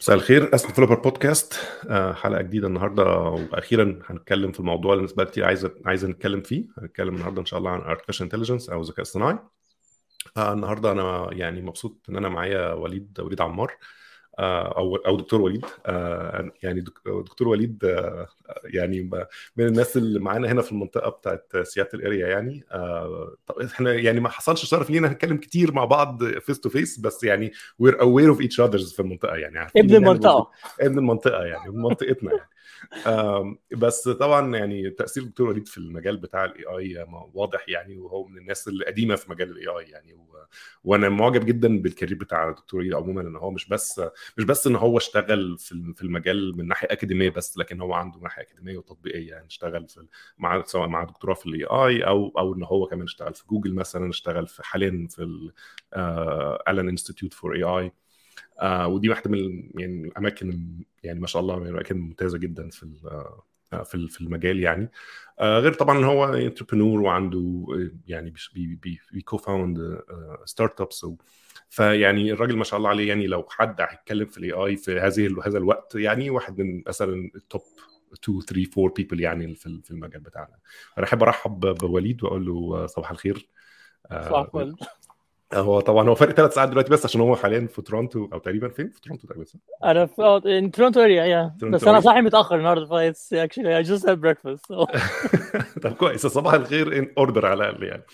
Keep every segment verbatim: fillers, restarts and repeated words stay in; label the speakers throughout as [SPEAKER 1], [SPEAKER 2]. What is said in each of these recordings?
[SPEAKER 1] مساء الخير، اسف ديفلوبر بودكاست. آه، حلقه جديده النهارده، واخيرا هنتكلم في الموضوع اللي الناس بقى كتير عايزه عايزه نتكلم فيه. هنتكلم النهارده ان شاء الله عن artificial intelligence او الذكاء الصناعي. آه، النهارده انا يعني مبسوط ان انا معايا وليد وليد عمار، آه، او او دكتور وليد. آه، يعني دك- دكتور وليد، آه، يعني ب- من الناس اللي معانا هنا في المنطقه بتاعت سياتل اريا. يعني آه، طب احنا يعني ما حصلش شرف لينا نتكلم كتير مع بعض فيس تو فيس، بس يعني we're aware of each others في المنطقه، يعني عارفين
[SPEAKER 2] ابن
[SPEAKER 1] ان احنا موجود
[SPEAKER 2] المنطقة.
[SPEAKER 1] ابن المنطقه، يعني من منطقتنا يعني. آم، بس طبعا يعني تاثير الدكتور وليد في المجال بتاع الاي اي واضح يعني، وهو من الناس القديمه في مجال الاي اي يعني. و... وانا معجب جدا بالكارير بتاع الدكتور وليد عموما، ان هو مش بس مش بس ان هو اشتغل في في المجال من ناحيه اكاديميه بس، لكن هو عنده ناحيه اكاديميه وتطبيقيه. يعني اشتغل في مع سواء مع دكتوراه في الاي اي، او او ان هو كمان اشتغل في جوجل مثلا، اشتغل في حاليا في الالن انستيتيوت فور اي اي. آه ودي واحده من ال- يعني الاماكن، يعني ما شاء الله، من الاماكن الممتازه جدا في ال- آه، في ال- في المجال يعني. آه غير طبعا ان هو انتربرنور، وعنده آه، يعني بي بي بي بي كوفاوند ستارت ابس. فيعني الراجل ما شاء الله عليه. يعني لو حد هيتكلم في الاي اي في هذه هذا الوقت، يعني واحد من مثلا التوب اتنين تلاتة اربعة بيبل يعني في في المجال بتاعنا. انا احب ارحب بوليد واقول له آه، صباح الخير.
[SPEAKER 2] صح
[SPEAKER 1] آه،
[SPEAKER 2] فل.
[SPEAKER 1] هو طبعا هو فرق ثلاث ساعات دلوقتي، بس عشان هو حاليا في تورونتو، او تقريبا فين في تورونتو تقريبا، صح؟
[SPEAKER 2] انا في آه، in Toronto area yeah.
[SPEAKER 1] تورونتو
[SPEAKER 2] بس انا
[SPEAKER 1] اريا.
[SPEAKER 2] صاحي متاخر النهارده فايتس actually I just had breakfast so.
[SPEAKER 1] طب كويس، صباح الخير ان اوردر على الاقل يعني.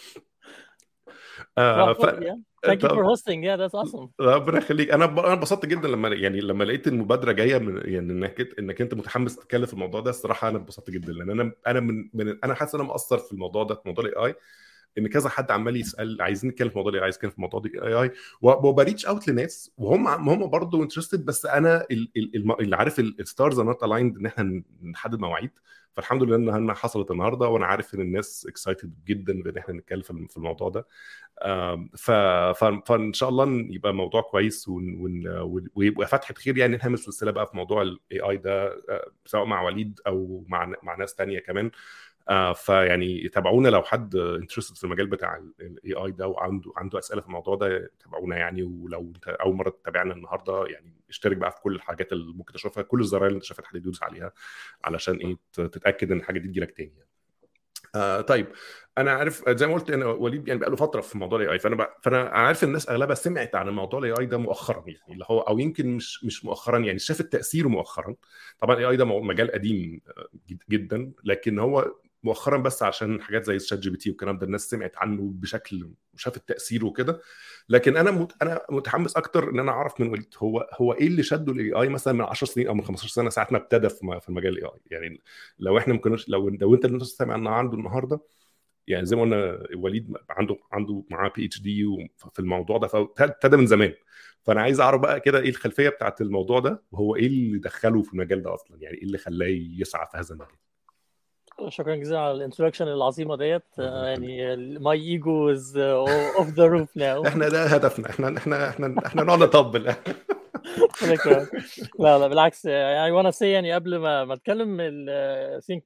[SPEAKER 2] صباح
[SPEAKER 1] آه ف
[SPEAKER 2] الفل yeah. Thank you for
[SPEAKER 1] طب
[SPEAKER 2] hosting yeah that's awesome.
[SPEAKER 1] ربنا يخليك. انا ب... انا انبسطت جدا لما يعني لما لقيت المبادره جايه من، يعني انك انك انت متحمس تتكلم في الموضوع ده. الصراحه انا انبسطت جدا، لان انا انا من, من انا حاسس ان انا مقصر في الموضوع ده، في موضوع الاي اي. ان كذا حد عمال يسال عايزين نتكلم في موضوع الاي اي، عايز نتكلم في موضوع الاي اي، وبريتش اوت لناس وهم هم برضه انترستد. بس انا ال- ال- الم- اللي عارف الستارز ار نوت الايند ان احنا نحدد مواعيد. فالحمد لله انها حصلت النهارده، وانا عارف ان الناس اكسايتد جدا ان احنا نتكلم في في الموضوع ده. آم، ف... ف... فان شاء الله يبقى موضوع كويس، ون... ون... ويبقى فتحه خير يعني، نعمل سلسله بقى في موضوع الاي اي ده، آه، سواء مع وليد او مع مع ناس تانية كمان. آه، فيعني تابعونا لو حد انترستد في المجال بتاع الاي اي ده، وعنده عنده اسئله في الموضوع ده، تابعونا يعني. ولو انت اول مره تتابعنا النهارده، يعني اشترك بقى في كل الحاجات اللي ممكن تشوفها، كل الزراير اللي انت شايفها حد يدوس عليها، علشان ايه تتاكد ان الحاجه دي تجيلك تاني يعني. آه طيب، انا عارف زي ما قلت، انا وليد يعني بقى له فتره في موضوع الاي اي، فانا بقى فانا عارف الناس اغلبها سمعت عن الموضوع الاي اي ده مؤخرا، يعني اللي هو او يمكن مش مش مؤخرا، يعني شافت تاثيره مؤخرا. طبعا الاي اي ده مجال قديم آه، جد- جدا، لكن هو مؤخرا بس عشان حاجات زي الشات جي بي تي والكلام ده الناس سمعت عنه بشكل، وشافت تاثيره وكده. لكن انا مت... انا متحمس اكتر ان انا اعرف من وليد هو هو ايه اللي شده الاي اي مثلا من عشر سنين او من خمستاشر سنه، ساعه ما ابتدى في م- في المجال الاي اي يعني. لو احنا ما كناش لو لو انت اللي انت سامع عنه النهارده، يعني زي ما قلنا وليد عنده عنده معاه بي اتش دي في الموضوع ده، فابتدى من زمان. فانا عايز اعرف بقى كده ايه الخلفيه بتاعت الموضوع ده، وهو ايه اللي دخله في المجال ده اصلا، يعني ايه اللي خلاه يسعى في هذا المجال.
[SPEAKER 2] شكرا جزيلا على الانترودكشن العظيمه ديت
[SPEAKER 1] ربنا
[SPEAKER 2] آه،
[SPEAKER 1] يخليك.
[SPEAKER 2] يعني my ego is uh, off the roof now.
[SPEAKER 1] احنا ده هدفنا، احنا احنا احنا احنا نقعد نطبل.
[SPEAKER 2] ربنا يكرمك. لا لا بالعكس يعني وانا سي يعني قبل ما ما اتكلم ال think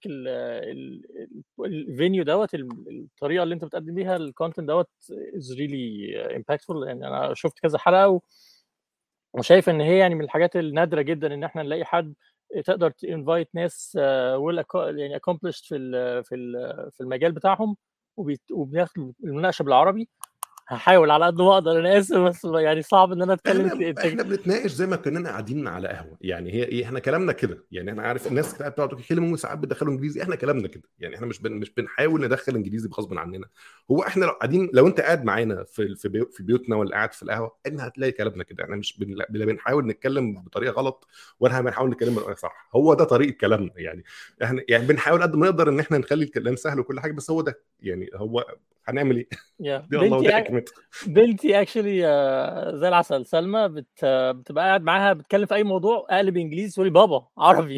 [SPEAKER 2] الفينيو دوت ال- الطريقه اللي انت بتقدم بيها الكونتنت دوت is really impactful يعني انا شفت كذا حلقه و- وشايف ان هي يعني من الحاجات النادره جدا ان احنا نلاقي حد تقدر تinvite ناس آه، well acco- يعني accomplished في ال- في ال- في المجال بتاعهم وبيت- وبناخد المناقشه بالعربي. هحاول على قد ما اقدر انا اسف بس يعني صعب ان انا اتكلم
[SPEAKER 1] احنا
[SPEAKER 2] ك-
[SPEAKER 1] احنا بنتناقش زي ما كنا قاعدين على قهوه، يعني هي ايه، احنا كلامنا كده يعني. انا عارف الناس كده بتقعد تتكلم وساعات بتدخلوا انجليزي، احنا كلامنا كده يعني. احنا مش بن مش بنحاول ندخل انجليزي غصب عننا. هو احنا لو قاعدين، لو انت قاعد معانا في في بيو- في بيوتنا، ولا قاعد في القهوه، احنا هتلاقي كلامنا كده. احنا مش بن لا بنحاول نتكلم بطريقه غلط، ولا بنحاول نتكلم بطريقه صح. هو ده طريقه كلامنا يعني. احنا يعني بنحاول قد ما نقدر ان احنا نخلي الكلام سهل وكل حاجه، بس هو ده يعني. هو هنعمل ايه؟
[SPEAKER 2] يا
[SPEAKER 1] دي والله ودي
[SPEAKER 2] بنتي
[SPEAKER 1] حكمته.
[SPEAKER 2] بنتي اكشلي زي العسل سلمى بت... بتبقى قاعد معاها بتتكلم في اي موضوع اقلب انجليزي تقولي بابا عربي.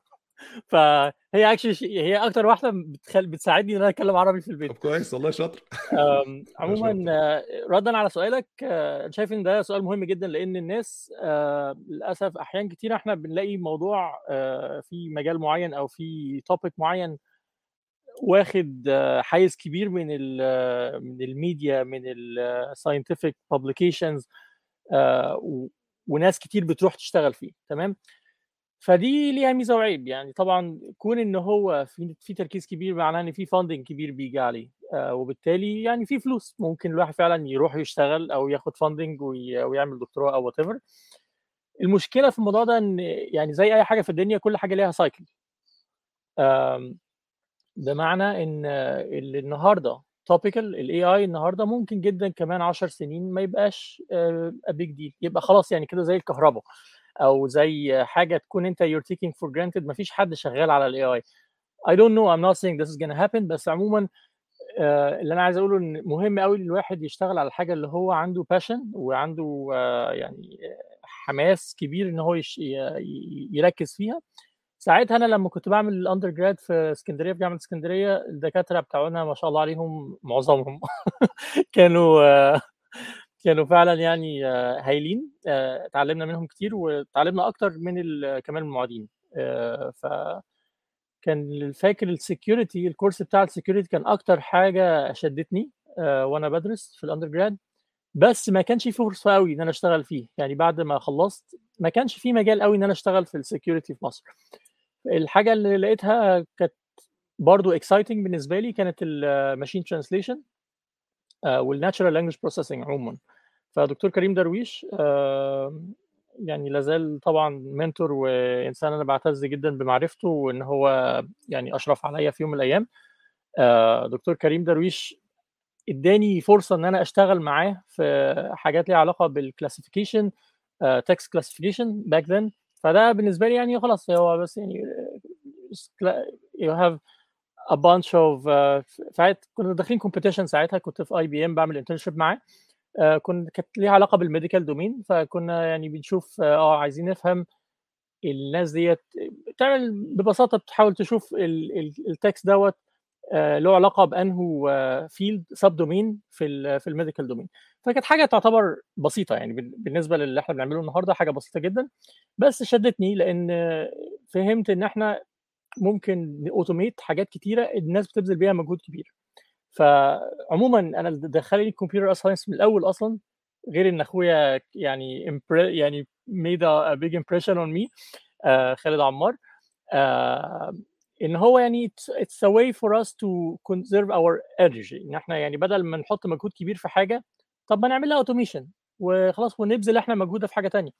[SPEAKER 2] فهي اكشلي هي اكتر واحده بتخل... بتساعدني ان انا اتكلم عربي في
[SPEAKER 1] طب
[SPEAKER 2] البيت.
[SPEAKER 1] كويس والله، شاطر.
[SPEAKER 2] أم، عموما
[SPEAKER 1] شاطر.
[SPEAKER 2] آه، ردا على سؤالك آه، انا شايف ان ده سؤال مهم جدا لان الناس آه، للاسف احيان كتير احنا بنلاقي موضوع آه، في مجال معين او في توبيك معين واخد آه، حيز كبير من ال من الميديا من الساينتفك publications. آه، وناس كتير بتروح تشتغل فيه. تمام. فدي ليها ميزه وعيب. يعني طبعا كون ان هو في في تركيز كبير معناه ان في فاندنج كبير بيجي عليه، آه وبالتالي يعني في فلوس ممكن الواحد فعلا يروح يشتغل او ياخد فاندنج ويعمل دكتوراه او وات ايفر. المشكله في الموضوع ده ان يعني زي اي حاجه في الدنيا كل حاجه ليها سايكل. بمعنى ان اللي النهارده توبيكال الاي اي النهارده ممكن جدا كمان عشر سنين ما يبقاش ا بيج ديل، يبقى خلاص يعني كده زي الكهرباء او زي حاجه تكون انت you're taking for granted. ما فيش حد شغال على الاي اي. I don't know, I'm not saying this is gonna happen، بس عموما آه، اللي انا عايز اقوله ان مهم قوي الواحد يشتغل على الحاجه اللي هو عنده باشن وعنده آه، يعني حماس كبير ان هو يش... ي- يركز فيها. ساعتها انا لما كنت بعمل الاندر جراد في اسكندريه في جامعه اسكندريه، الدكاتره بتاعونا ما شاء الله عليهم معظمهم كانوا آه، كانوا فعلا يعني آه، هايلين. آه، اتعلمنا منهم كتير وتعلمنا اكتر من ال- كمان المعيدين. آه، فكان فاكر السكيورتي، الكورس بتاع السكيورتي كان اكتر حاجه شدتني آه، وانا بدرس في الاندر جراد. بس ما كانش في فرصه قوي ان انا اشتغل فيه. يعني بعد ما خلصت ما كانش في مجال قوي ان انا اشتغل في السكيورتي في مصر. الحاجه اللي لقيتها كانت برضو اكسايتنج بالنسبه لي كانت الماشين ترانسليشن والناتشرال لانجويج بروسيسنج عموما. فدكتور كريم درويش آه، يعني لازال طبعا منتور وانسان انا بعتز جدا بمعرفته وان هو يعني اشرف عليا في يوم من الايام. آه، دكتور كريم درويش اداني فرصه ان انا اشتغل معاه في حاجات ليها علاقه بالكلاسيفيكيشن، تكست كلاسيفيكيشن باك ذن. فده بالنسبه لي يعني خلاص هو بس يعني you have a bunch of uh, ساعات كنا داخلين كومبيتيشن. ساعتها كنت في اي بي ام بعمل انترنشيب معاه. آه كنت كانت ليها علاقه بالميديكال دومين. فكنا يعني بنشوف اه آه، عايزين نفهم الناس ديت بتعمل ببساطه بتحاول تشوف التكست دوت آه له علاقه بانه فيلد سب دومين في ال في الميديكال دومين. فكانت حاجه تعتبر بسيطه يعني بالنسبه للي احنا بنعمله النهارده، حاجه بسيطه جدا. بس شدتني لان فهمت ان احنا ممكن اوتوميت حاجات كتيره الناس بتبذل بيها مجهود كبير. فعموما انا اللي دخلني الكمبيوتر ساينس من الاول اصلا، غير ان اخويا يعني يعني made a big impression on me آه خالد عمار. آه ان هو يعني it's, it's a way for us to conserve our energy. ان احنا يعني بدل ما نحط مجهود كبير في حاجه، طب ما نعملها اوتوميشن وخلاص ونبذل احنا مجهودنا في حاجه تانية.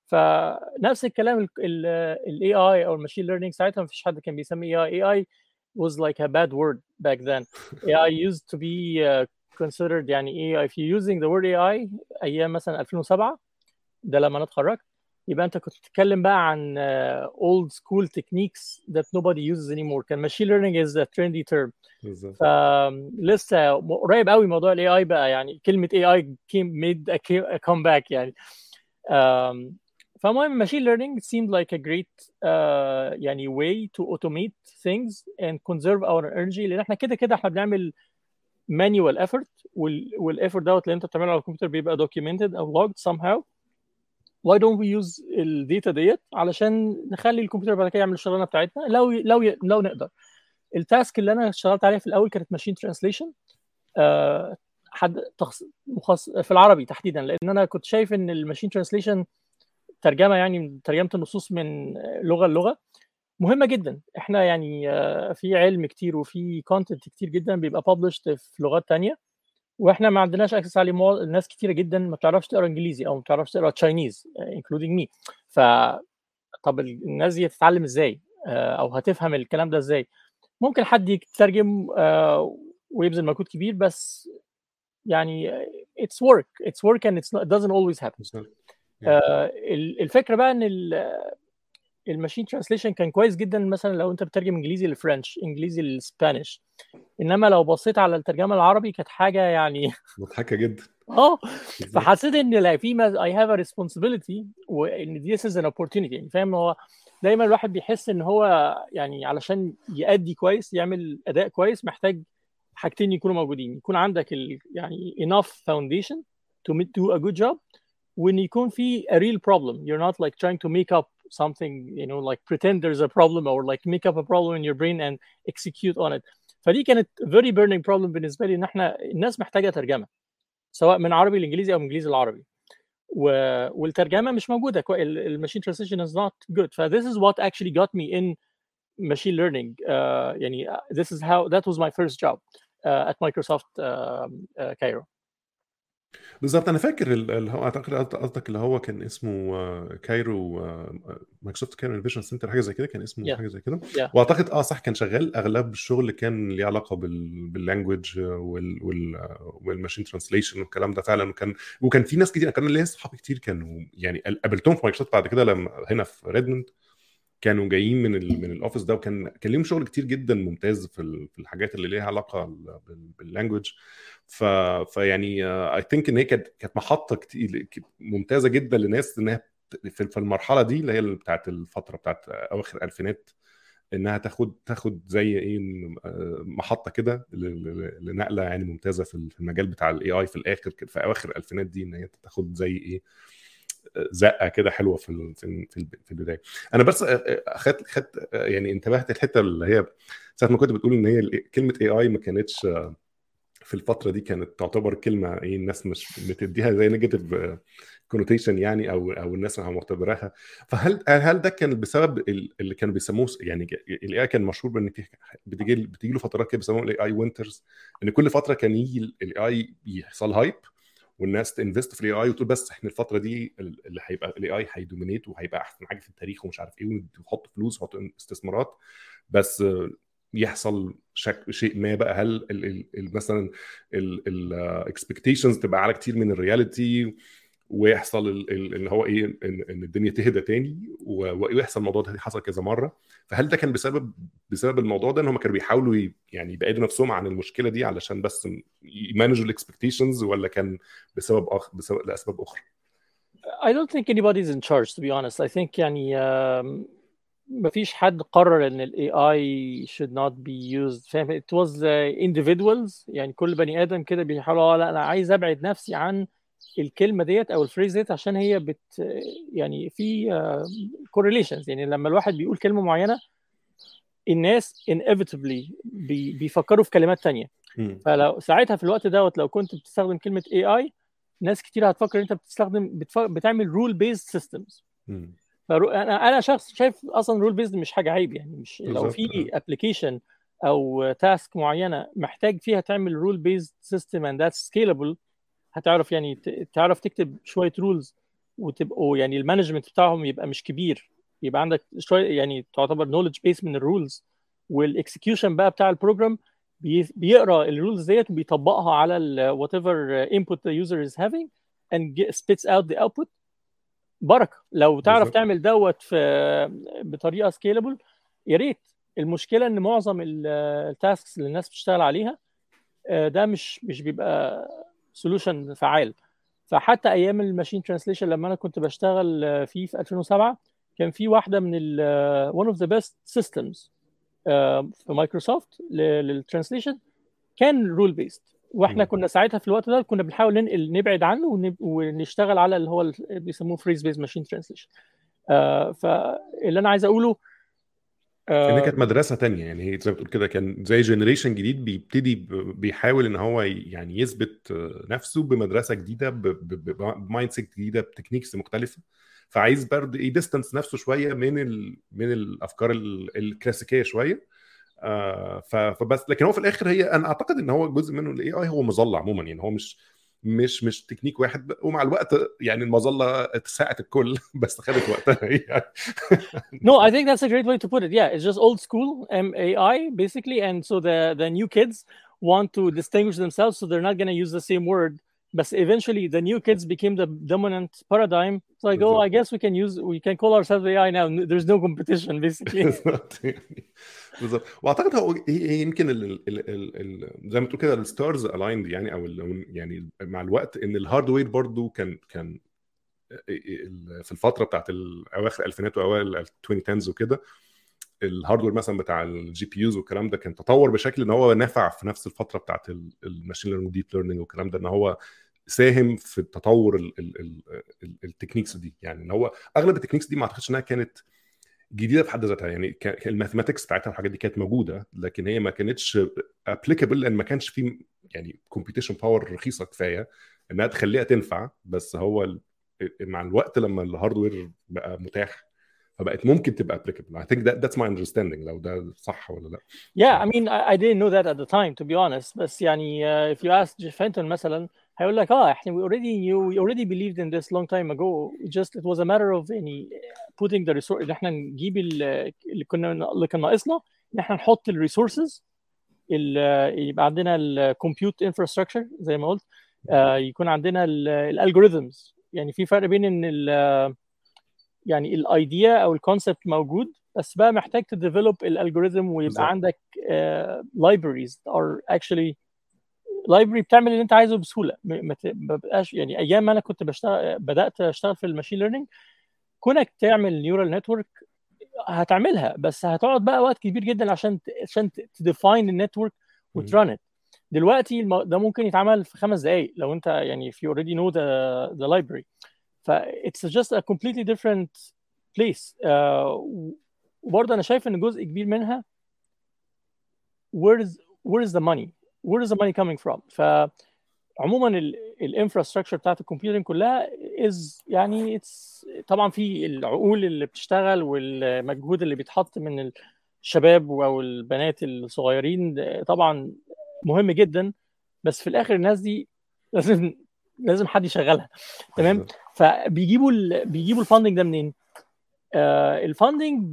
[SPEAKER 2] فنفس الكلام الاي اي او الماشين ليرنينج ساعتها ما فيش حد كان بيسمي اي اي. اي was like a bad word back then. اي اي used to be uh, considered يعني ايه. if you're using the word اي اي ايام مثلا ألفين وسبعة، ده لما انا اتخرجت، يبقى انت كنت بتتكلم بقى عن uh, old school techniques that nobody uses anymore. كان machine learning is a trendy term.
[SPEAKER 1] بالظبط.
[SPEAKER 2] فلسه قريب قوي موضوع الاي اي بقى يعني كلمه اي اي came made a, a comeback يعني. um, فالمهم machine learning seemed like a great uh, يعني way to automate things and conserve our energy. لان احنا كده كده احنا بنعمل manual effort وال والeffort دوت اللي انت بتعمله على الكمبيوتر بيبقى documented او logged somehow. why don't we use الداتا ديت علشان نخلي الكمبيوتر بعد كده يعمل الشغلانه بتاعتنا لو لو لو نقدر. التاسك اللي انا اشتغلت عليها في الاول كانت ماشين ترانسليشن أه حد تخص... مخص... في العربي تحديدا، لان انا كنت شايف ان الماشين ترانسليشن ترجمه يعني ترجمه النصوص من لغه للغه مهمه جدا. احنا يعني في علم كتير وفي كونتنت كتير جدا بيبقى published في لغات تانية واحنا ما عندناش اكسس عليه. مو... ناس كتيره جدا ما بتعرفش تقرا انجليزي او ما بتعرفش تقرا تشاينيز including me. ف طب الناس دي هتتعلم ازاي او هتفهم الكلام ده ازاي؟ ممكن حد يترجم ويبذل مجهود كبير بس يعني it's work it's work and it's not, it doesn't always happen. آه الفكره بقى ان الماشين ترانسليشن كان كويس جدا مثلا لو انت بتترجم انجليزي لفرنش، انجليزي للسبانيش. انما لو بصيت على الترجمه العربي كانت حاجه يعني
[SPEAKER 1] مضحكه جدا.
[SPEAKER 2] اه فحسيت ان لا في I have a responsibility وان this is an opportunity. يعني فاهم، هو دايما الواحد بيحس ان هو يعني علشان يأدي كويس يعمل اداء كويس محتاج حاجتين يكونوا موجودين. يكون عندك ال يعني enough foundation to do a good job، وان يكون في a real problem. You're not like trying to make up something, you know, like pretend there's a problem or like make up a problem in your brain and execute on it. فدي كانت very burning problem بالنسبه لي، ان احنا الناس محتاجه ترجمه سواء من عربي لانجليزي او من انجليزي لعربي. والترجمه مش موجوده. الماشين ترانسليشن is not good. ف this is what actually got me in machine learning. uh, يعني this is how that was my first job uh, at Microsoft uh, uh, Cairo.
[SPEAKER 1] بالظبط. انا فاكر اللي هو اعتقد قصدك اللي هو كان اسمه كايرو، مايكروسوفت كايرو انوفيشن سنتر، حاجه زي كده كان اسمه،
[SPEAKER 2] yeah.
[SPEAKER 1] حاجه زي كده
[SPEAKER 2] yeah.
[SPEAKER 1] واعتقد اه صح كان شغال اغلب الشغل كان ليه علاقه بال باللانجويج وال وال والماشين ترانسليشن والكلام ده فعلا. وكان وكان في ناس كتير، كان ليا اصحابي كتير كانوا يعني قابلتهم في مايكروسوفت بعد كده لما هنا في ريدموند، كانوا جايين من ال من الاوفيس ده، وكان كان ليهم شغل كتير جدا ممتاز في في الحاجات اللي ليها علاقه باللانجويج. ف فيعني اي ثينك ان هي كانت كانت محطه كتير ممتازه جدا لناس انها في المرحله دي اللي هي بتاعه الفتره بتاعه اواخر الالفينات، انها تاخد تاخد زي ايه محطه كده لنقله يعني ممتازه في المجال بتاع الاي اي في الاخر في اواخر الالفينات دي، ان هي تاخد زي ايه زقه كده حلوه في في في البدايه. انا بس اخدت خدت يعني انتبهت الحته اللي هي ساعه ما كنت بتقول ان هي كلمه اي اي ما كانتش في الفتره دي كانت تعتبر كلمه ايه الناس مش بتديها زي نيجاتيف كونوتيشن يعني، او او الناس معتبراها. فهل هل ده كان بسبب اللي كانوا بيسموه يعني الاي اي كان مشهور بان في بتيجي بتيجي له فترات كده بيسموه الاي اي وينترز، ان كل فتره كان يجي الاي اي يحصل هايب والناس تنفست في الاي اي وتقول بس احنا الفتره دي اللي هيبقى الاي اي هيدومينيت وهيبقى احسن حاجه في التاريخ ومش عارف ايه، ونحط فلوس ونحط استثمارات. بس يحصل شك شيء ما بقى، هل ال ال مثلا الاكسبكتيشنز تبقى على كتير من الرياليتي، ويحصل اللي هو ايه ان, إن الدنيا تهدى تاني، ويحصل الموضوع ده حصل كذا مره. فهل ده كان بسبب بسبب الموضوع ده ان هم كانوا بيحاولوا يعني يبعدوا نفسهم عن المشكله دي علشان بس يمانجوا الاكسبكتيشنز، ولا كان بسبب أخ... بسبب لاسباب اخرى؟
[SPEAKER 2] I don't think anybody's in charge to be honest. I think يعني um, مفيش حد قرر ان ال إيه آي should not be used. فاهم؟ it was uh, individuals. يعني كل بني ادم كده بيحاولوا لا انا عايز ابعد نفسي عن الكلمه ديت او الفريز ديت عشان هي بت يعني في uh, correlations. يعني لما الواحد بيقول كلمه معينه الناس inevitably بي بيفكروا في كلمات تانية. فلو ساعتها في الوقت دوت لو كنت بتستخدم كلمه إيه آي ناس كتير هتفكر انت بتستخدم بتف... بتعمل رول بيزد سيستمز. انا انا شخص شايف اصلا رول بيزد مش حاجه عيب. يعني مش لو في ابلكيشن او تاسك معينه محتاج فيها تعمل رول بيزد سيستم اند ذاتس سكيلبل، هتعرف يعني تعرف تكتب شويه رولز وتبقوا يعني المانجمنت بتاعهم يبقى مش كبير، يبقى عندك شويه يعني تعتبر نوليدج بيس من الرولز، والاكسكيوشن بقى بتاع البروجرام بيقرا الرولز ديت وبيطبقها على ال whatever input the user is having and get, spits out the output. بركه لو تعرف بالزبط. تعمل دوت في بطريقه سكيلبل يا ريت. المشكله ان معظم التاسكس اللي الناس بتشتغل عليها ده مش مش بيبقى سولوشن فعال. فحتى ايام الماشين ترانسليشن لما انا كنت بشتغل فيه في ألفين وسبعة كان في واحده من ال one of the best systems في مايكروسوفت للترانسليشن كان رول بيست، واحنا م. كنا ساعتها في الوقت ده كنا بنحاول ننقل نبعد عنه ونشتغل على اللي هو اللي بيسموه فريز بيز ماشين ترانسليشن. فاللي انا عايز اقوله
[SPEAKER 1] آه ان كانت مدرسه تانية، يعني هي زي ما بتقول كده كان زي جنريشن جديد بيبتدي بيحاول ان هو يعني يثبت نفسه بمدرسه جديده بمايند سيت جديده بتكنيكس مختلفه، فعايز برضه يديستنس نفسه شويه من ال من الافكار الكلاسيكيه شويه. آه فبس لكن هو في الاخر هي انا اعتقد ان هو جزء منه الاي اي هو مظله عموما، يعني هو مش مش مش تكنيك واحد، ومع الوقت يعني المظله اتساعت الكل بس خدت وقتها يعني.
[SPEAKER 2] No, I think that's a great way to put it. Yeah, it's just old school M A I basically, and so the the new kids want to distinguish themselves, so they're not going to use the same word. But eventually, the new kids became the dominant paradigm. So I go, I guess we can use, we can call ourselves A I now. There's no competition basically.
[SPEAKER 1] بالظبط. واعتقد هو يمكن ال ال ال ال زي ما تقول كده الستارز الايند يعني، او يعني مع الوقت ان الهاردوير برضو كان كان في الفتره بتاعت اواخر الالفينات واوائل العشرينات وكده، الهاردوير مثلا بتاع الجي بي يوز والكلام ده كان تطور بشكل ان هو نافع في نفس الفتره بتاعت الماشين ليرنينج ديب ليرنينج والكلام ده، ان هو ساهم في التطور التكنيكس دي. يعني ان هو اغلب التكنيكس دي ما اعتقدش انها كانت جديده في حد ذاتها، يعني الماثماتكس بتاعتها والحاجات دي كانت موجوده، لكن هي ما كانتش ابليكابل لان ما كانش في يعني كومبيتيشن باور رخيصه كفايه انها تخليها تنفع. بس هو مع الوقت لما الهاردوير بقى متاح فبقت ممكن تبقى applicable. I think that that's my understanding لو ده صح ولا لا.
[SPEAKER 2] Yeah, I mean, I, I didn't know that at the time, to be honest. بس يعني uh, if you ask Jeff Hinton مثلا هيقول لك اه احنا we already knew, we already believed in this long time ago. It just it was a matter of يعني putting the resource ان احنا نجيب اللي كنا اللي كان ناقصنا ان احنا نحط الريسورسز يبقى عندنا الكمبيوت انفراستراكشر زي ما قلت uh, يكون عندنا الالجوريثمز. يعني في فرق بين ان ال يعني الايديا او الكونسبت موجود بس بقى محتاج تديفلوب الالجوريثم ويبقى بالزبط. عندك لايبريز ار اكشلي لايبرري بتعمل اللي انت عايزه بسهوله. ما بقاش يعني ايام ما انا كنت بشتغل بدات اشتغل في الماشين ليرنينج كونك تعمل نيورال نتورك هتعملها بس هتقعد بقى وقت كبير جدا عشان عشان تديفاين النتورك وتران ات. دلوقتي ده ممكن يتعمل في خمس دقائق لو انت يعني if you already know the the library. ف it's just a completely different place. uh, وبرضه انا شايف ان جزء كبير منها where is where is the money where is the money coming from. فعموما الانفراستراكشر بتاعت الكمبيوتنج كلها is يعني it's طبعا في العقول اللي بتشتغل والمجهود اللي بيتحط من الشباب او البنات الصغيرين طبعا مهم جدا بس في الاخر الناس دي لازم لازم حد يشغلها. تمام. فبيجيبوا ال... بيجيبوا الفاندنج ده منين؟ آه الفاندنج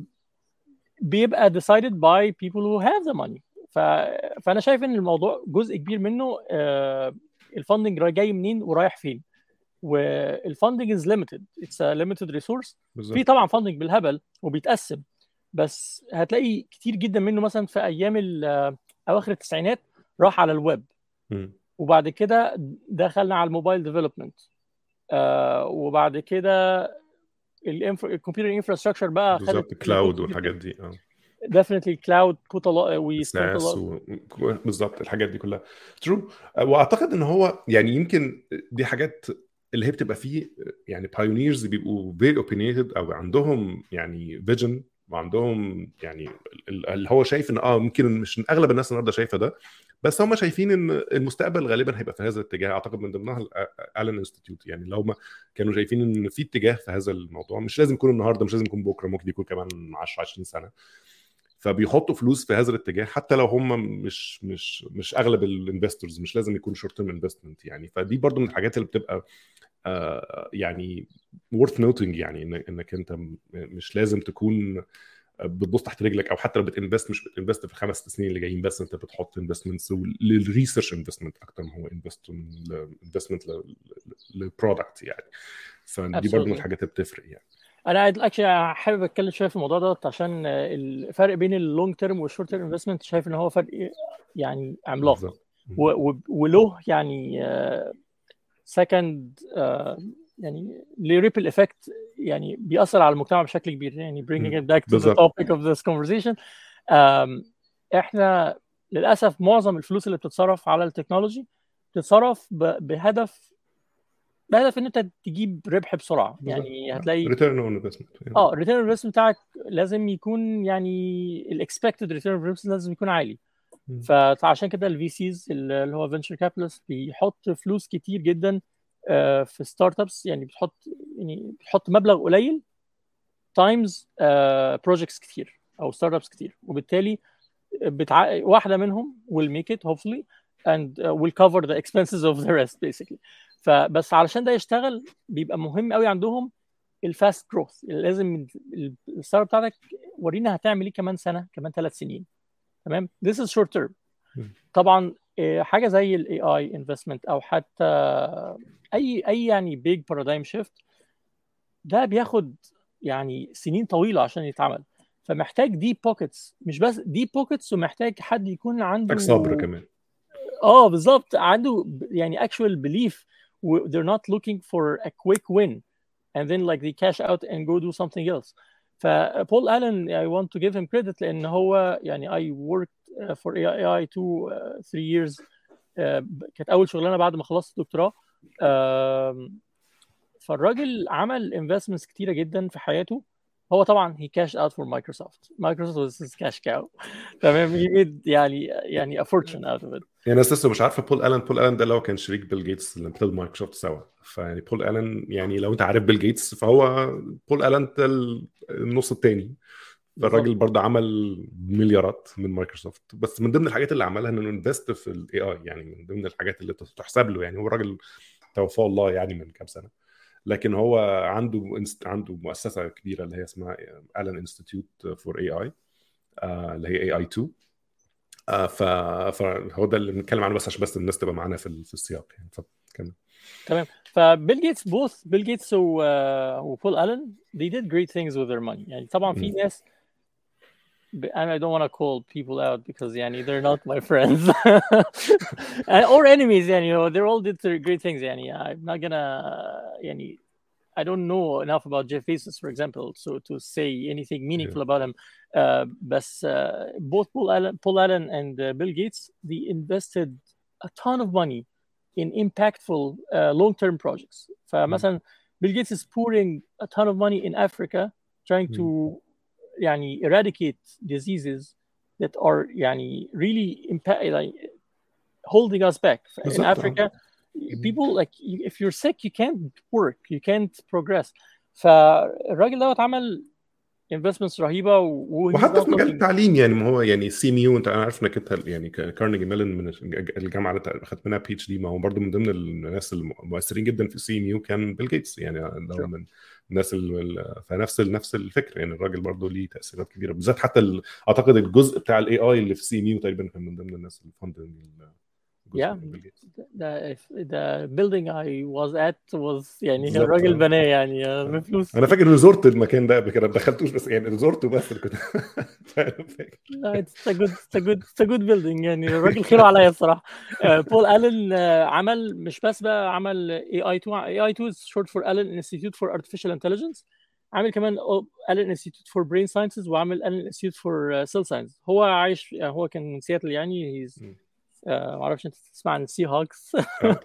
[SPEAKER 2] بيبقى decided by people who have the money. ف... فانا شايف ان الموضوع جزء كبير منه آه الفاندنج جاي منين ورايح فين. والفاندنج is limited, it's a limited resource. في طبعا فاندنج بالهبل وبيتقسم بس هتلاقي كتير جدا منه مثلا في ايام اواخر التسعينات راح على الويب م. وبعد كده دخلنا على الموبايل ديفلوبمنت آه وبعد كده الكمبيوتر انفراستراكشر بقى
[SPEAKER 1] خدت كلاود والحاجات دي. اه
[SPEAKER 2] definitely cloud put a lot we spent a lot
[SPEAKER 1] و... بالظبط الحاجات دي كلها ترو. واعتقد ان هو يعني يمكن دي حاجات اللي هي بتبقى فيه يعني بايونيرز بيبقوا very opinionated او عندهم يعني فيجن وعندهم يعني اللي هو شايف ان اه ممكن مش اغلب الناس النهارده شايفه ده بس هم شايفين ان المستقبل غالبا هيبقى في هذا الاتجاه. اعتقد من ضمنها الالن انستيتيوت يعني لو هم كانوا شايفين ان في اتجاه في هذا الموضوع مش لازم يكون النهارده مش لازم يكون بكره ممكن يكون كمان عشرة عشرين سنه فبيحطوا فلوس في هذا الاتجاه حتى لو هم مش مش مش اغلب الانفستورز مش لازم يكون شورت تيرم انفستمنت يعني. فدي برضو من الحاجات اللي بتبقى آه يعني worth noting يعني انك انت مش لازم تكون بتبص تحت رجلك او حتى لو بتنفست مش بتنفست في الخمس سنين اللي جايين بس انت بتحط انفستمنتس للريسيرش انفستمنت اكتر ما هو انفستمنت للبرودكت يعني. فدي برضو من الحاجات اللي بتفرق يعني.
[SPEAKER 2] انا اكشلي حابب اتكلم شويه في الموضوع ده عشان الفرق بين اللونج تيرم والشورت تيرم انفستمنت شايف ان هو فرق يعني عملاق وله يعني سكند يعني ليه ريبل افكت يعني بيأثر على المجتمع بشكل كبير يعني bringing it back to the topic of this conversation. احنا للاسف معظم الفلوس اللي بتتصرف على التكنولوجي بتتصرف بهدف بهدف ان انت تجيب ربح بسرعه يعني هتلاقي
[SPEAKER 1] ريتيرن اون انفستمنت
[SPEAKER 2] اه الريتيرن اون انفستمنت بتاعك لازم يكون يعني الاكسبكتد ريتيرن اون انفستمنت لازم يكون عالي. فعشان كده الفي سيز اللي هو فينشر كابيتالست بيحط فلوس كتير جدا في ستارت ابس يعني بتحط يعني بتحط مبلغ قليل تايمز بروجكتس كتير او ستارت ابس كتير وبالتالي بتع... واحده منهم will make it hopefully and uh, will cover the expenses of the rest basically. فبس علشان ده يشتغل بيبقى مهم قوي عندهم الفاست جروث. لازم الستارت اب بتاعتك ورينا هتعمل ايه كمان سنه كمان ثلاث سنين. تمام. this is short term. طبعا حاجه زي الاي اي انفستمنت او حتى اي اي يعني بيج بارادايم شيفت ده بياخد يعني سنين طويله عشان يتعمل. فمحتاج دي بوكيتس مش بس دي بوكيتس ومحتاج حد يكون عنده
[SPEAKER 1] صبر كمان.
[SPEAKER 2] اه بالظبط عنده يعني actual belief they're not looking for a quick win and then like they cash out and go do something else. فبول ألين I want to give him credit لأن هو يعني I worked for A I two uh, three years uh, كانت أول شغلانة بعد ما خلصت الدكتوراه. uh, فالراجل عمل investments كتيرة جدا في حياته هو طبعا he cashed out for Microsoft. Microsoft was his cash cow. تمام. he made يعني يعني a fortune out of it.
[SPEAKER 1] يعني الناس لسه مش عارفه بول الن بول الن ده اللي هو كان شريك بيل جيتس اللي ابتدوا مايكروسوفت سوا. فيعني بول الن يعني لو انت عارف بيل جيتس فهو بول الن ده النص الثاني. فالراجل برضه عمل مليارات من مايكروسوفت. بس من ضمن الحاجات اللي عملها انه انفست في الاي اي، يعني من ضمن الحاجات اللي تحسب له. يعني هو الراجل توفاه الله يعني من كام سنه، لكن هو عنده عنده مؤسسه كبيره اللي هي اسمها الن انستيتيوت فور اي اي، اللي هي اي اي تو. آه ف... فهو ده اللي بنتكلم عنه، بس عشان بس الناس تبقى معانا في في السياق يعني. فكمل.
[SPEAKER 2] تمام. فبيل جيتس both بيل جيتس و وبول الن they did great things with their money. يعني طبعا في ناس and I don't want to call people out because يعني they're not my friends or enemies يعني, you know, they all did great things يعني. I'm not gonna يعني I don't know enough about Jeff Bezos, for example, so to say anything meaningful yeah. about him. Uh, but uh, both Paul Allen, Paul Allen and uh, Bill Gates, they invested a ton of money in impactful uh, long-term projects. فمثلا Bill Gates is pouring a ton of money in Africa, trying to يعني eradicate diseases that are يعني really impact, like, holding us back. In Africa, people like if you're sick you can't work, you can't progress. فالراجل دوت عمل investments رهيبه و...
[SPEAKER 1] وحتى في مجال التعليم يعني. ما هو يعني سي ام يو، انت انا عارف انك انت يعني كارنيجي ميلون من الجامعه اللي اخذت منها بي اتش دي، ما هو برضه من ضمن الناس المؤثرين جدا في سي ام يو كان بيل جيتس يعني. ده من الناس ال... فنفس نفس الفكره يعني. الراجل برضه ليه تاثيرات كبيره، بالذات حتى ال... اعتقد الجزء بتاع الاي اي اللي في سي ام يو تقريبا كان من ضمن الناس اللي فاند
[SPEAKER 2] Yeah, the the building I was at was يعني الراجل بناه يعني بفلوس.
[SPEAKER 1] انا فاكر ريزورت المكان ده قبل كده، ما دخلتوش بس يعني ريزورت بس اللي كنت فاكر.
[SPEAKER 2] لا it's a good it's a good it's a good building يعني. الراجل خيره عليا الصراحه. بول الن عمل مش بس بقى عمل اي اي تو. اي اي تو is short for Allen Institute for Artificial Intelligence. عامل كمان Allen Institute for Brain Sciences، وعامل Allen Institute for Cell Science. هو عايش هو كان من سياتل يعني. he's Uh, ما اعرفش انت تسمع عن السي هوكس.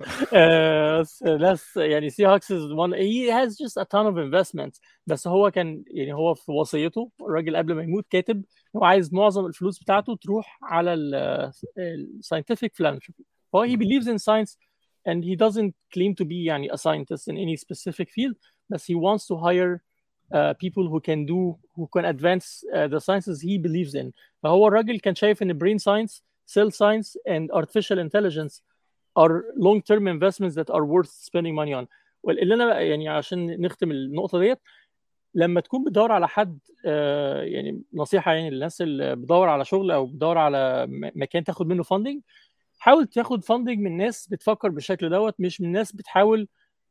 [SPEAKER 2] ناس يعني سي هوكس is one he has just a ton of investments. بس هو كان يعني هو في وصيته الراجل قبل ما يموت كاتب هو عايز معظم الفلوس بتاعته تروح على ال scientific philanthropy. هو he believes in science and he doesn't claim to be يعني a scientist in any specific field, but he wants to hire uh, people who can do who can advance uh, the sciences he believes in. فهو الراجل كان شايف ان brain science, cell science and artificial intelligence are long-term investments that are worth spending money on. واللي انا يعني عشان نختم النقطه ديت، لما تكون بتدور على حد آه يعني نصيحه يعني للناس اللي بتدور على شغل او بتدور على مكان تاخد منه فاندنج، حاول تاخد فاندنج من ناس بتفكر بالشكل دوت، مش من ناس بتحاول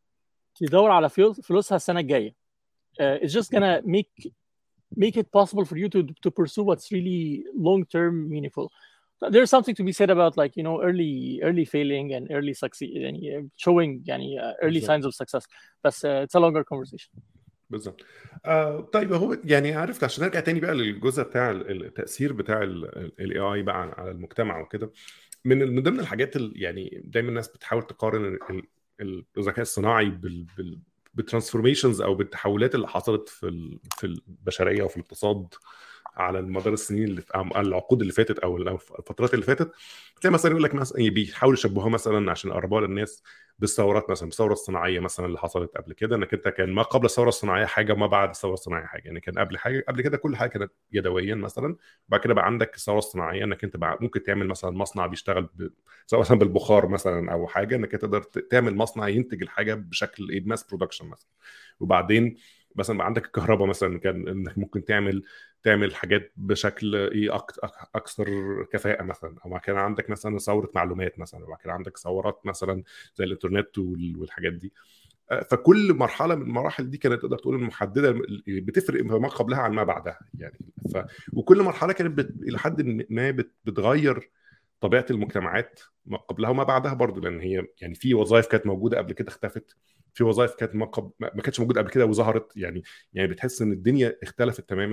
[SPEAKER 2] تدور على فلوسها السنه الجايه. uh, it's just gonna make make it possible for you to to pursue what's really long-term meaningful. There's something to be said about like you know early early failing and early succeed يعني showing يعني uh, early signs of success. بس uh, it's a longer conversation.
[SPEAKER 1] بالظبط. آه طيب هو يعني عرفت عشان نرجع تاني بقى للجزء بتاع التأثير بتاع الاي اي بقى على المجتمع وكده. من من ضمن الحاجات اللي يعني دايما الناس بتحاول تقارن الذكاء الصناعي بال, بال بالترانسفورميشنز او بالتحولات اللي حصلت في في البشريه وفي الاقتصاد على مدار السنين اللي او العقود اللي فاتت او الفترات اللي فاتت. تلاقي مثلا يقول لك مثلا بيحاولوا يشبهوها مثلا عشان يقربوها للناس بالثورات، مثلا الثوره الصناعيه مثلا اللي حصلت قبل كده، انك انت كان ما قبل الثوره الصناعيه حاجه وما بعد الثوره الصناعيه حاجه. يعني كان قبل حاجه قبل كده كل حاجه كانت يدويا مثلا، وبعد كده بقى عندك الثوره الصناعيه انك انت بقى ممكن تعمل مثلا مصنع بيشتغل ب... سواء مثلا بالبخار مثلا او حاجه، انك تقدر تعمل مصنع ينتج الحاجه بشكل ايه ماس برودكشن مثلا. وبعدين مثلا بقى عندك الكهرباء مثلا، كان انك ممكن تعمل تعمل حاجات بشكل ايه اكثر كفاءه مثلا. او كان عندك مثلا ثوره معلومات مثلا، وبعد كده عندك ثورات مثلا زي الانترنت والحاجات دي. فكل مرحله من المراحل دي كانت تقدر تقول محدده، بتفرق ما قبلها عن ما بعدها يعني. ف... وكل مرحله كانت بت... الى حد ما بت... بتغير طبيعه المجتمعات ما قبلها وما بعدها برضو، لان هي يعني في وظائف كانت موجوده قبل كده اختفت، في وظائف كانت ما, قب... ما كانتش موجوده قبل كده وظهرت يعني. يعني بتحس ان الدنيا اختلفت تماما.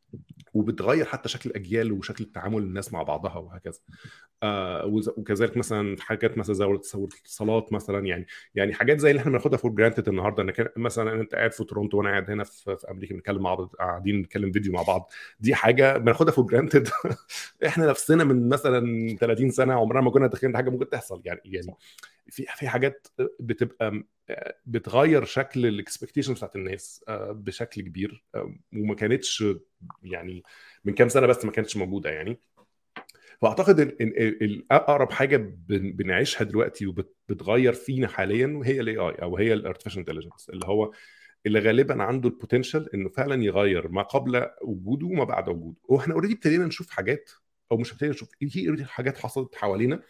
[SPEAKER 1] وبتغير حتى شكل الاجيال وشكل التعامل الناس مع بعضها وهكذا. آه وكذلك مثلا في حاجات مثلا زي الاتصالات مثلا، يعني يعني حاجات زي اللي احنا بناخدها فور جرانتد النهارده، انك مثلا انت قاعد في تورونتو وانا قاعد هنا في, في امريكا بنتكلم مع بعض، قاعدين نتكلم فيديو مع بعض، دي حاجه بناخدها فور جرانتد. احنا نفسنا من مثلا ثلاثين سنه عمرنا ما كنا تخيلنا حاجه ممكن تحصل. يعني يعني في في حاجات بتبقى بتغير شكل الاكسبكتيشنز بتاعت الناس بشكل كبير، وما كانتش يعني من كام سنه بس ما كانتش موجوده يعني. فاعتقد ان الاقرب حاجه بنعيشها دلوقتي وبتغير فينا حاليا هي الاي اي، او هي الارتفيشال انتليجنس، اللي هو اللي غالبا عنده البوتنشال انه فعلا يغير ما قبل وجوده وما بعد وجوده. واحنا اوريدي ابتدينا نشوف حاجات، او مش ابتدينا نشوف، في اوريدي حاجات حصلت حوالينا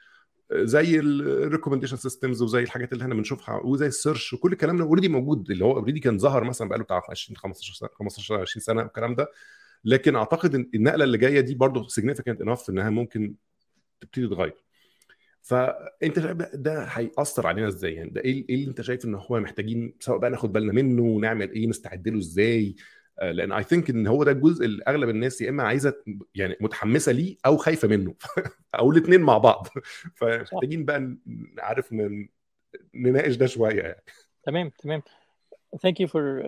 [SPEAKER 1] زي الريكومنديشن سيستمز وزي الحاجات اللي احنا بنشوفها وزي السيرش وكل الكلام ده اوريدي موجود، اللي هو اوريدي كان ظهر مثلا بقاله بتاع عشرين خمستاشر سنه خمستاشر عشرين سنه الكلام ده. لكن اعتقد ان النقله اللي جايه دي برضه significant enough انها ممكن تبتدي تتغير. فانت شايف ده هيأثر علينا ازاي؟ يعني ده ايه اللي انت شايف ان هو محتاجين سواء بقى ناخد بالنا منه ونعمل ايه، نستعد له ازاي؟ لان اي ثينك ان هو ده الجزء اللي اغلب الناس يا اما عايزه يعني متحمسه ليه او خايفه منه او الاثنين مع بعض. فمحتاجين بقى نعرف نناقش ده شويه يعني.
[SPEAKER 2] تمام تمام. ثانك يو فور،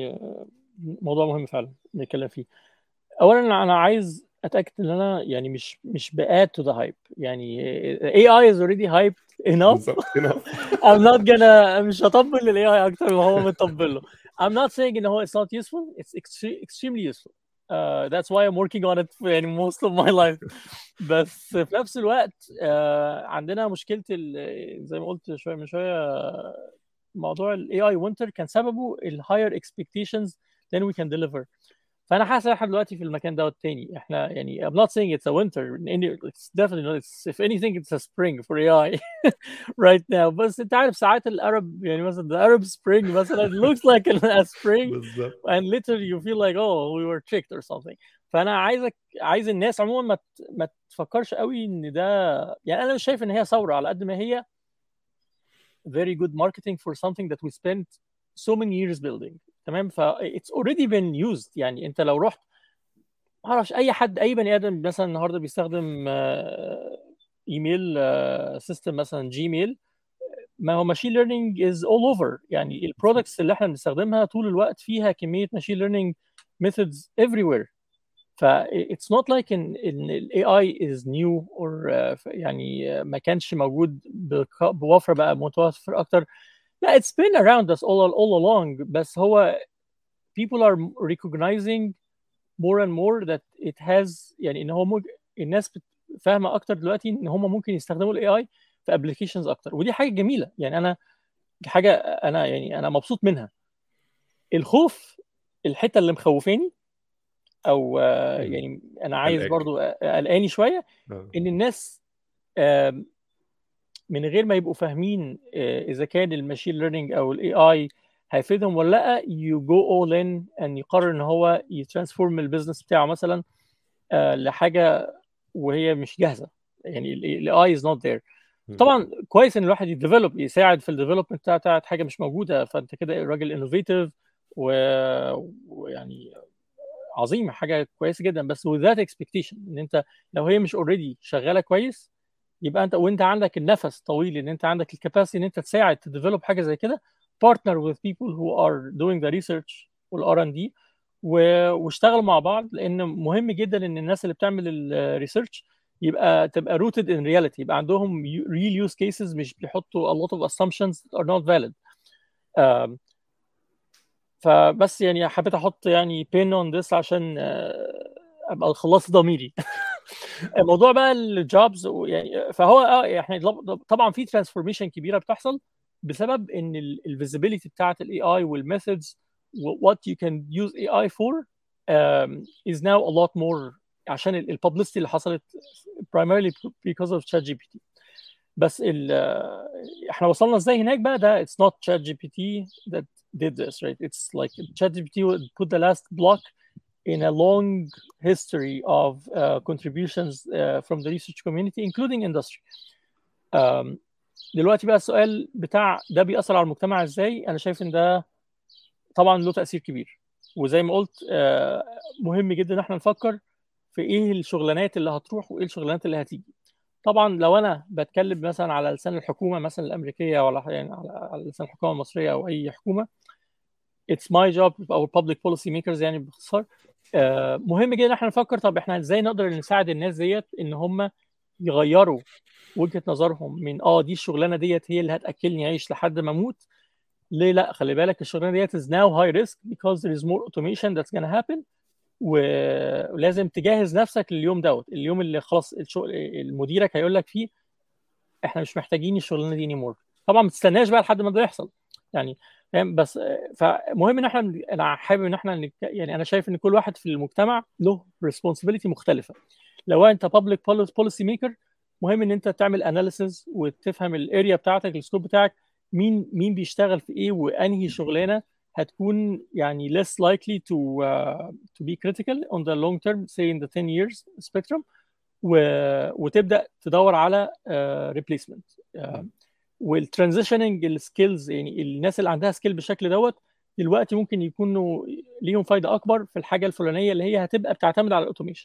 [SPEAKER 2] موضوع مهم فعلا نتكلم فيه. اولا انا عايز اتاكد ان انا يعني مش مش باد تو ذا هايب. يعني اي اي از اوريدي هايب enough. I'm not gonna مش هطبل للاي اي اكتر ما هو مطبل له. I'm not saying ان هو it's not useful, it's extremely useful. Uh, that's why I'm working on it يعني most of my life. بس في نفس الوقت uh, عندنا مشكلة زي ما قلت شوية من شوية، موضوع الاي اي winter كان سببه ال higher expectations than we can deliver. فانا حاسس احنا دلوقتي في المكان ده التاني. احنا يعني I'm not saying it's a winter, it's definitely not, it's, if anything it's a spring for اي اي right now. بس انت عارف ساعات الارب يعني مثلا the Arab spring مثلا looks like a spring and literally you feel like oh we were tricked or something. فانا عايزك عايز الناس عموما ما ما تفكرش قوي ان ده، يعني انا مش شايف ان هي ثوره على قد ما هي very good marketing for something that we spent so many years building. تمام. ف it's already been used. يعني انت لو رحت ما اعرفش اي حد اي بني ادم مثلا النهارده بيستخدم ايميل سيستم مثلا جيميل، ما هو ماشين ليرنينج از اول اوفر. يعني البرودكتس اللي احنا بنستخدمها طول الوقت فيها كميه ماشين ليرنينج ميثودز everywhere. ف it's not like ان ان الاي اي is new or uh, يعني ما كانش موجود بوفره بقى متوفر اكتر. لا it's been around us all all along. بس هو people are recognizing more and more that it has يعني ان هو مج... الناس فاهمه اكتر دلوقتي ان هم ممكن يستخدموا الاي اي في ابلكيشنز اكتر، ودي حاجه جميله. يعني انا حاجه انا يعني انا مبسوط منها. الخوف الحته اللي مخوفاني او يعني انا عايز برضو قلقاني شويه ان الناس من غير ما يبقوا فاهمين اذا كان الماشين ليرنينج او الاي اي هيفيدهم ولا لا، you go all in and يقرر ان هو يترانسفورم البيزنس بتاعه مثلا لحاجه وهي مش جاهزه. يعني الاي is not there. طبعا كويس ان الواحد يديفلوب يساعد في الديفلوبمنت بتاعت حاجه مش موجوده، فانت كده راجل انوفيتيف ويعني عظيم، حاجه كويسه جدا. بس with that expectation ان انت لو هي مش اوريدي شغاله كويس يبقى انت وانت عندك النفس طويل ان انت عندك الكاباسيتي ان انت تساعد تديفلوب حاجه زي كده، partner with people who are doing the research والار ان دي واشتغلوا مع بعض. لان مهم جدا ان الناس اللي بتعمل الريسيرش يبقى تبقى rooted in reality، يبقى عندهم real use cases مش بيحطوا a lot of assumptions that are not valid. um, فبس يعني حبيت احط يعني pin on this عشان ابقى خلصت ضميري. الموضوع بقى الجوبز يعني فهو اه احنا طبعا في ترانسفورميشن كبيره بتحصل بسبب ان الفيزيبيليتي بتاعت الاي اي والميثودز what you can use اي اي for um, is now a lot more عشان الببليستي اللي حصلت primarily because of ChatGPT. بس ال احنا وصلنا ازاي هناك بقى؟ ده it's not ChatGPT that did this, right? It's like ChatGPT would put the last block in a long history of uh, contributions uh, from the research community including industry. um, دلوقتي بقى السؤال بتاع ده بيأثر على المجتمع ازاي؟ انا شايف ان ده طبعا له تأثير كبير. وزي ما قلت آه، مهم جدا ان احنا نفكر في ايه الشغلانات اللي هتروح وايه الشغلانات اللي هتيجي. طبعا لو انا بتكلم مثلا على لسان الحكومه مثلا الامريكيه، ولا يعني على على لسان الحكومه المصريه او اي حكومه، it's my job او public policy makers يعني باختصار، آه، مهم جدا ان احنا نفكر طب احنا ازاي نقدر نساعد الناس ديت ان هم يغيروا وجهة نظرهم من اه دي الشغلانه ديت هي اللي هتاكلني عيش لحد ما اموت. ليه لا؟ خلي بالك الشغلانه ديت is now high risk because there is more automation that's gonna happen. ولازم تجهز نفسك لليوم دوت، اليوم اللي خلاص الشغل المديرك هيقول لك فيه احنا مش محتاجين الشغلانه دي anymore. طبعا ما تستناش بقى لحد ما ده يحصل يعني، فاهم؟ بس فمهم ان احنا، انا حابب ان احنا نك... يعني انا شايف ان كل واحد في المجتمع له responsibility مختلفه. لو انت public policy maker، مهم ان انت تعمل analysis وتفهم الاريا بتاعتك، السكوب بتاعك، مين مين بيشتغل في ايه وانهي شغلانه هتكون يعني less likely to uh, to be critical on the long term say in the ten years spectrum، و... وتبدا تدور على uh, replacement. uh, والترانزيشننج السكيلز، يعني الناس اللي عندها سكيل بالشكل دوت دلوقتي ممكن يكونوا ليهم فايده اكبر في الحاجه الفلانيه اللي هي هتبقى بتعتمد على الاوتوميشن.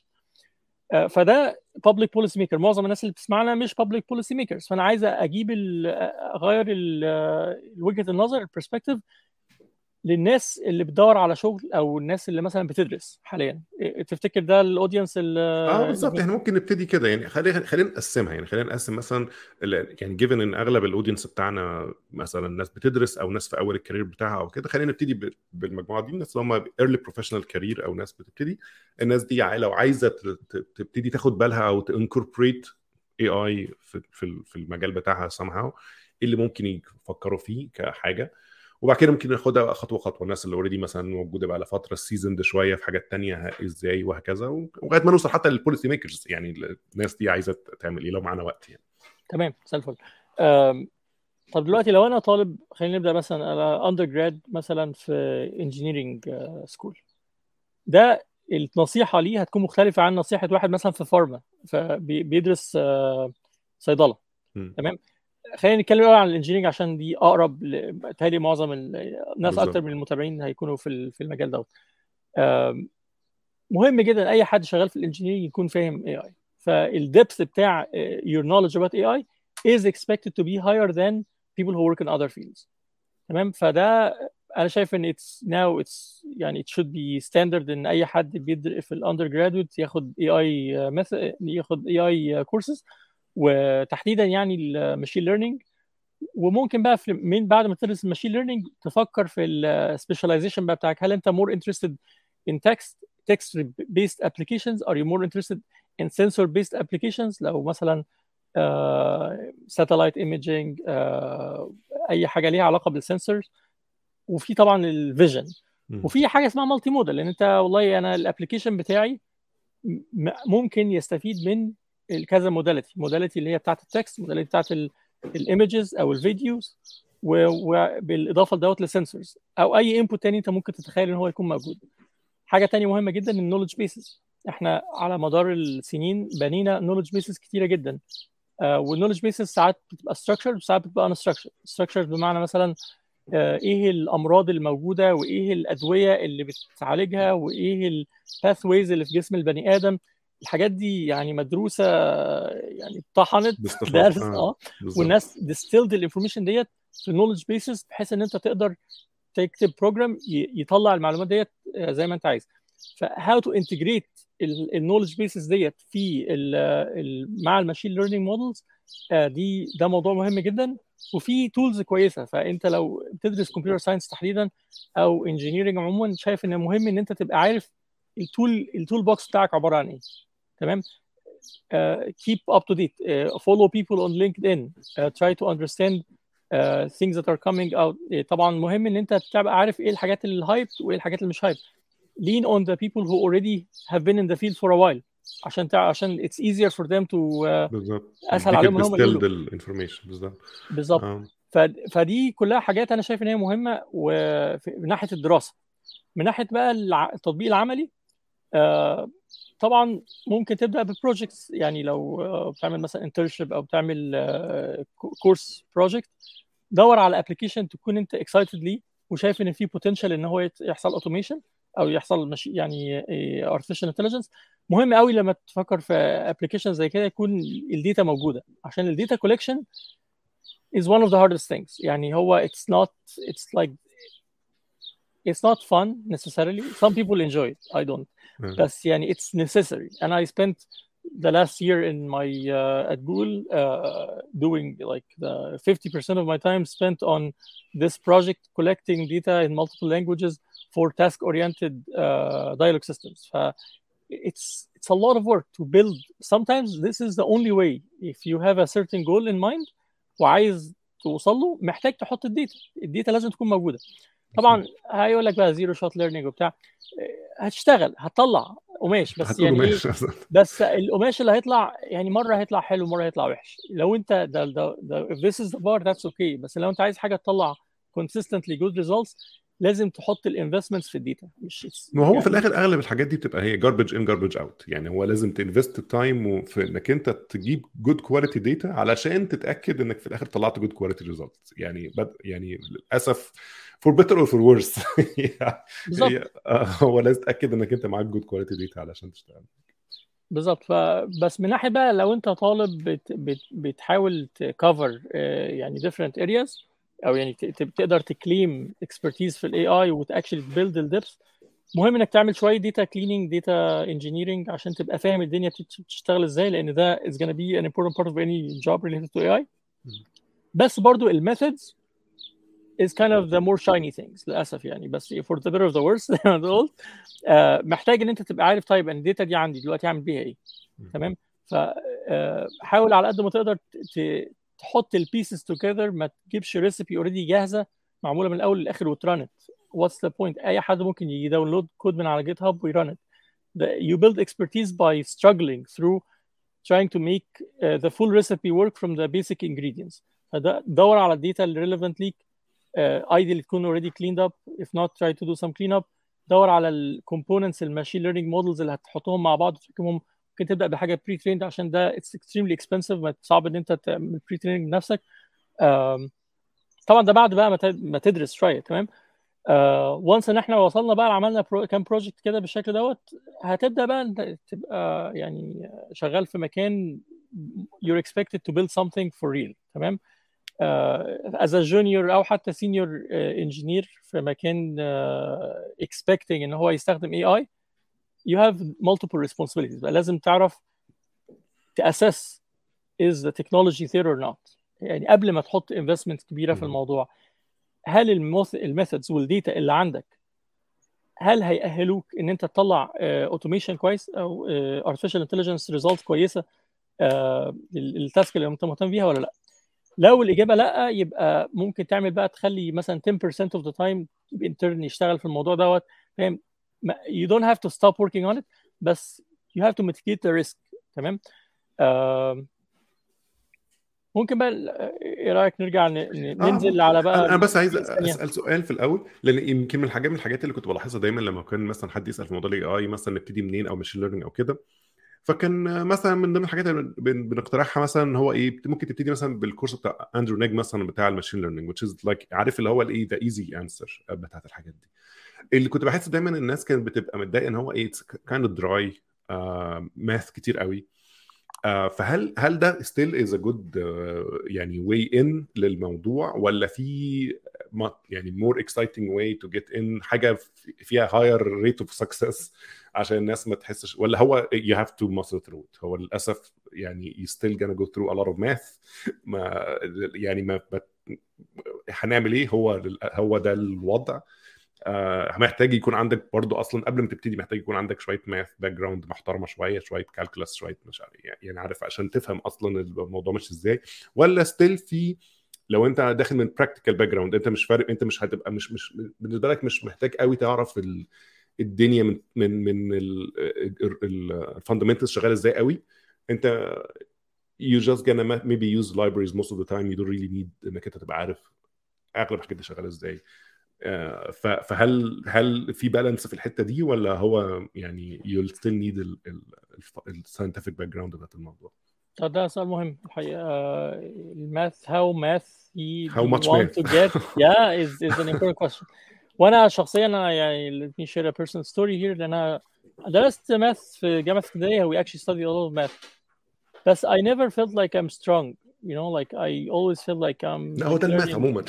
[SPEAKER 2] فده public policy maker. معظم الناس اللي بتسمعنا مش public policy makers، فانا عايز اجيب ال اغير وجهه النظر البرسبكتيف للناس اللي بتدور على شغل او الناس اللي مثلا بتدرس حاليا. تفتكر ده الاودينس اللي
[SPEAKER 1] اه بالظبط؟ احنا ممكن نبتدي كده يعني، خلينا خلينا نقسمها يعني، خلينا نقسم مثلا ال- يعني جيفن ان اغلب الاودينس بتاعنا مثلا ناس بتدرس او ناس في اول الكارير بتاعها او كده، خلينا نبتدي ب- بالمجموعه دي، الناس اللي هم ايرلي بروفيشنال كارير او ناس بتبتدي. الناس دي لو عايزه ت- ت- تبتدي تاخد بالها او تنكوربريت اي اي في في في المجال بتاعها somehow، ايه اللي ممكن يفكروا فيه كحاجه. وبعد كده ممكن ناخدها خطوه خطوه، الناس اللي اوريدي مثلا موجوده بقى لفتره السيزون ده شويه في حاجات تانية ازاي وهكذا، ولغايه ما نوصل حتى للبوليسي ميكرز، يعني الناس دي عايزه تعمل ايه لو معانا وقت يعني.
[SPEAKER 2] تمام زي الفل. طب دلوقتي لو انا طالب، خلينا نبدا مثلا انا اندر جراد مثلا في انجينيرنج سكول، ده النصيحه ليه هتكون مختلفه عن نصيحه واحد مثلا في فارما فبيدرس صيدله.
[SPEAKER 1] م.
[SPEAKER 2] تمام. خلينا نتكلم الاول عن الانجينيرنج عشان دي اقرب، بتهيألي معظم الناس اكتر من المتابعين هيكونوا في في المجال دوت. مهم جدا اي حد شغال في الانجينيرنج يكون فاهم اي اي. فالدبث بتاع your knowledge about اي اي is expected to be higher than people who work in other fields. تمام. فده انا شايف ان it's now it's يعني it should be standard ان اي حد بيدرس في الاندر جرادويت ياخد اي اي مثلا، ياخد اي اي كورسز، وتحديدا يعني الماشين ليرنينج. وممكن بقى في من بعد ما تدرس الماشين ليرنينج تفكر في السبيشاليزيشن بقى بتاعك. هل انت more interested in text text based applications, are you more interested in sensor based applications لو مثلا ساتلايت ايميجينج، اي حاجه ليها علاقه بالسنسورز. وفي طبعا الفيجن، وفي حاجه اسمها مالتي موديل، لان انت والله انا الابلكيشن بتاعي ممكن يستفيد من كذا موداليتي، موداليتي اللي هي بتاعت التكست، موداليتي بتاعت الايمجز او الفيديوز، وبالاضافه لدوت للسنسورز او اي انبوت تاني انت ممكن تتخيل ان هو يكون موجود. حاجه تانية مهمه جدا النولج بيسز. احنا على مدار السنين بنينا نولج بيسز كتيره جدا، آه والنولج بيسز ساعات بتبقى structured وساعات بتبقى unstructured. structured بمعنى مثلا آه ايه الامراض الموجوده وايه الادويه اللي بتعالجها وايه الباثويز اللي في جسم البني ادم. الحاجات دي يعني مدروسه، يعني اتطحنت درس اه والناس distilled الانفورميشن ديت في النولج بيسز بحيث ان انت تقدر تكتب بروجرام يطلع المعلومات ديت زي ما انت عايز. فهاو تو انتجريت النولج بيسز ديت في ال ال مع الماشين ليرنينج مودلز، دي ده موضوع مهم جدا. وفي تولز كويسه. فانت لو بتدرس كمبيوتر ساينس تحديدا او انجينيرنج عموما، شايف ان مهم ان انت تبقى عارف التول التول بوكس بتاعك عباره عن ايه. تمام. uh, keep up to date, uh, follow people on LinkedIn, uh, try to understand uh, things that are coming out. طبعا مهم ان انت تبقى عارف ايه الحاجات اللي هايب وايه الحاجات اللي مش هايب. lean on the people who already have been in the field for a while عشان تع... عشان it's easier for them to uh,
[SPEAKER 1] بالظبط،
[SPEAKER 2] اسهل عليهم ان هم يقولوا
[SPEAKER 1] الانفورميشن. بالظبط
[SPEAKER 2] بالظبط. آه. ف... فدي كلها حاجات انا شايف ان هي مهمه. ومن ناحيه الدراسه، من ناحيه بقى التطبيق العملي، آه طبعا ممكن تبدا ببروجكتس. يعني لو بتعمل مثلا انترنشيب او بتعمل كورس بروجكت، دور على ابلكيشن تكون انت اكسايتد ليه وشايف ان في بوتنشال ان هو يحصل اوتوميشن، او يحصل مش يعني إيه artificial intelligence. مهم قوي لما تفكر في application زي كده يكون الداتا موجوده، عشان الداتا collection is one of the hardest things. يعني هو it's not it's like it's not fun necessarily. Some people enjoy it, I don't.
[SPEAKER 1] مم.
[SPEAKER 2] بس يعني it's necessary. And I spent the last year in my uh, at Google uh, doing like the fifty percent of my time spent on this project collecting data in multiple languages for task-oriented uh, dialogue systems. ف it's it's a lot of work to build. Sometimes this is the only way. If you have a certain goal in mind وعايز توصل له، محتاج تحط الداتا. الداتا لازم تكون موجوده. طبعا هيقول لك بقى زيرو شوت ليرنينج وبتاع، هتشتغل هتطلع قماش، بس
[SPEAKER 1] هتقولوا
[SPEAKER 2] يعني ايه،
[SPEAKER 1] ماشي مثلا.
[SPEAKER 2] بس القماش اللي هيطلع يعني مره هيطلع حلو مره هيطلع وحش. لو انت ده ده ده if this is the bar that's okay. بس لو انت عايز حاجه تطلع consistently good results لازم تحط الانفستمنتس في الداتا. مش
[SPEAKER 1] ما هو
[SPEAKER 2] يعني
[SPEAKER 1] في الاخر اغلب الحاجات دي بتبقى هي جاربج ان جاربج اوت، يعني هو لازم تنفست تايم في انك انت تجيب جود كواليتي داتا علشان تتاكد انك في الاخر طلعت جود كواليتي ريزلت. يعني بد... يعني للاسف فور بيتر اور فور ورس
[SPEAKER 2] بالظبط
[SPEAKER 1] هي هو لازم تتاكد انك انت معاك جود كواليتي داتا علشان تشتغل.
[SPEAKER 2] بالظبط. فبس من ناحيه بقى لو انت طالب بت بت بتحاول تكفر يعني different areas، او يعني ت- ت- تقدر تكليم expertise في الاي اي وتاكشلي تبيلد الدبس، مهم انك تعمل شويه داتا كليننج داتا انجينيرنج عشان تبقى فاهم الدنيا بتت- بتشتغل ازاي، لان ده is gonna be an important part of any job related to إيه آي. بس برضو الميثودز is kind of the more shiny things للاسف يعني. بس for the better of the worse زي ما تقول، آه، محتاج ان انت تبقى عارف طيب ان الداتا دي عندي دلوقتي اعمل بيها ايه. تمام. فحاول على قد ما تقدر ت- ت- تحط البيسز توجذر، ما تجيبش ريسيبي اوريدي جاهزه معموله من الاول للاخر وترانت. واتس ذا بوينت؟ اي حد ممكن يداونلود كود من على جيت هاب ويرانت. You build expertise by struggling through trying to make uh, the full recipe work from the basic ingredients. فده دور على الداتا اللي relevant ليك. uh, ideally تكون already cleaned up. If not, try to do some cleanup. دور على الكومبوننتس الماشين ليرنينج مودلز اللي هتحطهم مع بعض وتركبهم. ممكن تبدا بحاجه بري تريند عشان ده it's extremely expensive، ما صعب ان انت تعمل بري تريننج بنفسك. um, طبعا ده بعد بقى ما ت- ما تدرس شويه. تمام. وانس ان احنا وصلنا بقى عملنا برو كام بروجكت كده بالشكل دوت، هتبدا بقى انت تبقى يعني شغال في مكان you're expected to build something for real. تمام. uh, as a junior او حتى senior uh, engineer في مكان uh, expecting ان هو يستخدم إيه آي، you have multiple responsibilities. بقى لازم تعرف تأسس is the technology there or not. يعني قبل ما تحط investment كبيرة في الموضوع، هل الميثودز والديتا اللي عندك هل هيأهلوك ان انت تطلع اوتوميشن كويس او artificial intelligence results كويسه التاسك اللي انت مهتم بيها ولا لا؟ لو الاجابه لا، يبقى ممكن تعمل بقى تخلي مثلا ten percent of the time intern يشتغل في الموضوع دوت. فاهم؟ you don't have to stop working on it، بس you have to mitigate the risk. تمام. آه ممكن بقى ايه رايك نرجع ن- ن-
[SPEAKER 1] اه
[SPEAKER 2] ننزل على بقى
[SPEAKER 1] انا بس عايز
[SPEAKER 2] ثانيه؟
[SPEAKER 1] اسال سؤال في الاول، لان يمكن من الحاجات من الحاجات اللي كنت بلاحظها دايما لما كان مثلا حد يسال في موضوع الاي اي مثلا نبتدي منين او ماشين ليرنينج او كده، فكان مثلا من ضمن الحاجات اللي بن- بنقترحها مثلا هو ايه، ممكن تبتدي مثلا بالكورس بتاع اندرو نيج مثلا بتاع الماشين ليرنينج which is like عارف اللي هو الايه ذا ايزي انسر بتاعت الحاجات دي. اللي كنت بحس دايما الناس كانت بتبقى متضايقه ان هو ايه كايند دراي ماث كتير قوي. آه، فهل هل ده ستيل از ا جود يعني واي ان للموضوع، ولا في ما- يعني مور اكسايتنج واي تو جيت ان حاجه فيها هاير ريت اوف سكسس عشان الناس ما تحسش، ولا هو you have to muscle through it؟ هو للاسف يعني you still gonna go through a lot of math. ما يعني ما ما- هنعمل ايه؟ هو هو ده الوضع. آه، محتاج يكون عندك برضو اصلا قبل ما تبتدي محتاج يكون عندك شويه ماث باك جراوند محترمه، شويه شويه كالكولاس، شويه مش عارف يعني عارف عشان تفهم اصلا الموضوع ماشي ازاي. ولا ستيل في لو انت داخل من براكتيكال باك جراوند انت مش فارق، انت مش هتبقى مش مش بالنسبه لك مش محتاج قوي تعرف ال الدنيا من من من الفاندمنتالز شغاله ازاي قوي. انت you just gonna maybe use libraries most of the time. you don't really need انك انت تبقى عارف اغلب الحاجات دي شغاله ازاي. آه، ف- فهل هل في بالانس في الحته دي، ولا هو يعني you'll still need الساينتفك باك جراوند بتاعت الموضوع؟
[SPEAKER 2] طب ده سؤال مهم الحقيقة. الماث how mathy
[SPEAKER 1] how
[SPEAKER 2] do you
[SPEAKER 1] much
[SPEAKER 2] want
[SPEAKER 1] math
[SPEAKER 2] to get yeah is is an important question. وانا شخصيا انا يعني let me share a personal story here. لان انا درست ماث في جامعه اسكندريه. we actually studied a lot of math بس I never felt like I'm strong, you know, like I always feel like I'm
[SPEAKER 1] لا هو
[SPEAKER 2] like
[SPEAKER 1] ده الماث
[SPEAKER 2] learning.
[SPEAKER 1] عموما.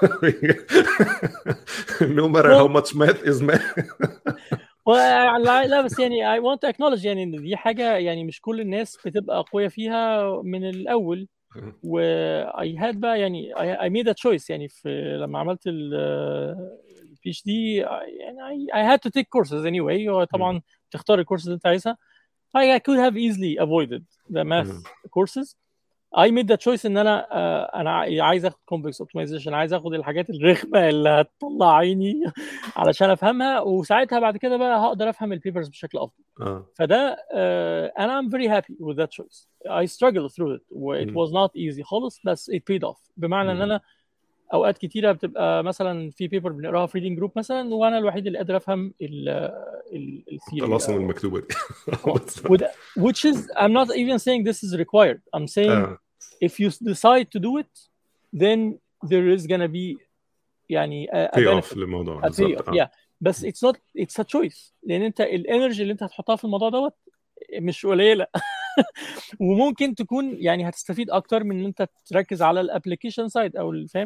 [SPEAKER 1] no matter how
[SPEAKER 2] well
[SPEAKER 1] much math is math.
[SPEAKER 2] well لا لا بس يعني I want to acknowledge يعني ان دي حاجه يعني مش كل الناس بتبقى قويه فيها من الاول. و I had بقى يعني I, I made a choice يعني في لما عملت ال البي اتش دي يعني I, I had to take courses anyway. وطبعا تختار الكورسز اللي انت عايزها. I could have easily avoided the math courses. I made the choice ان انا uh, انا عايز اخد complex optimization, عايز اخد الحاجات الرخمه اللي هتطلع عيني علشان افهمها, وساعتها بعد كده بقى هقدر افهم البيبرز بشكل افضل.
[SPEAKER 1] اه
[SPEAKER 2] فده uh, and I'm very happy with that choice. I struggled through it و it was not easy خالص بس it paid off. بمعنى ان انا اوقات كتيره بتبقى مثلا في بيبر بنقراها في ريدنج جروب مثلا وانا الوحيد اللي قادر افهم الثيوري
[SPEAKER 1] الطلاسم المكتوبه دي.
[SPEAKER 2] which is I'm not even saying this is required. I'm saying
[SPEAKER 1] آه.
[SPEAKER 2] if you decide to do it then there is gonna be يعني a, a
[SPEAKER 1] pay off
[SPEAKER 2] benefit,
[SPEAKER 1] للموضوع
[SPEAKER 2] a pay
[SPEAKER 1] بالظبط.
[SPEAKER 2] off. yeah بس it's not it's a choice. لان انت الانرجي اللي انت هتحطها في الموضوع دوت مش قليله. وممكن تكون يعني هتستفيد اكتر من ان انت تركز على الابلكيشن سايد او الفهم.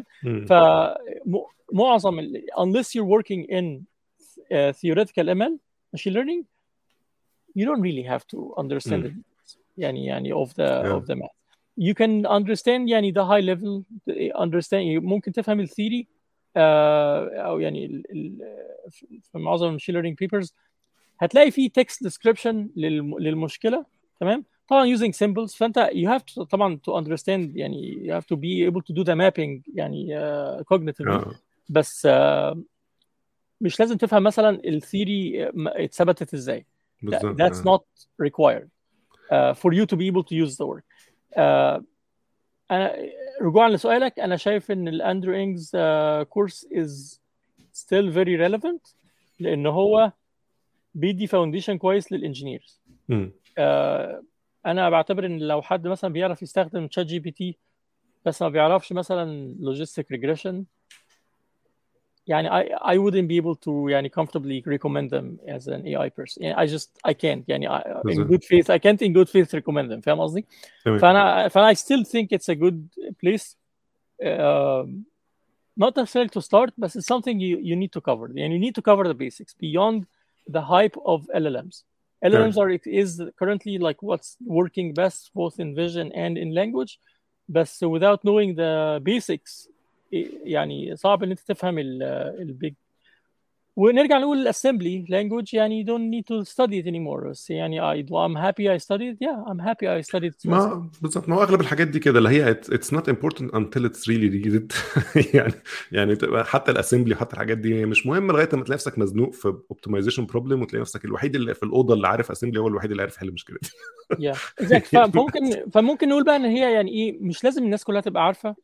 [SPEAKER 2] فمعظم ال- unless you're working in uh, theoretical M L machine learning you don't really have to understand it يعني يعني of the
[SPEAKER 1] yeah.
[SPEAKER 2] of the math. You can understand يعني the high level understand. ممكن تفهم الثيوري uh, او يعني ال, ال, في معظم المشين ليرنينج بيبرز هتلاقي فيه text description للم, للمشكله. تمام. طبعا using symbols. فانت you have to طبعا to understand يعني you have to be able to do the mapping يعني uh, cognitively.
[SPEAKER 1] آه.
[SPEAKER 2] بس uh, مش لازم تفهم مثلا الثيوري اتثبتت ازاي.
[SPEAKER 1] بالظبط.
[SPEAKER 2] That's
[SPEAKER 1] آه.
[SPEAKER 2] not required uh, for you to be able to use the word. uh, أنا رجوعا لسؤالك أنا شايف إن الأندرو إنجز كورس uh, is still very relevant لأن هو بيدي فاونديشن كويس للإنجينيرز. uh, أنا بعتبر إن لو حد مثلا بيعرف يستخدم تشات جي بي تي بس ما بيعرفش مثلا logistic regression يعني I I wouldn't be able to يعني comfortably recommend them as an A I person. يعني I just I can't يعني I, in good faith I can't in good faith recommend them. فاهم قصدي؟ فأنا فأنا I still think it's a good place uh, not necessarily to start but it's something you you need to cover. يعني you need to cover the basics beyond the hype of L L Ms. L L Ms are is currently like what's working best both in vision and in language but without knowing the basics يعني صعب ان انت تفهم البيج. ونرجع نقول الاسمبلي لانجوج يعني you don't need to study it anymore. بس يعني I, I'm happy I studied yeah I'm happy I studied it.
[SPEAKER 1] ما بالظبط. ما هو اغلب الحاجات دي كده اللي هي it's not important until it's really needed. يعني يعني تبقى حتى الاسمبلي وحتى الحاجات دي مش مهم لغايه ما تلاقي نفسك مزنوق في اوبتمايزيشن بروبلم وتلاقي نفسك الوحيد اللي في الاوضه اللي عارف اسمبلي هو الوحيد اللي عارف يحل المشكله دي.
[SPEAKER 2] yeah exactly. فممكن فممكن نقول بقى ان هي يعني ايه مش لازم الناس كلها تبقى عارفه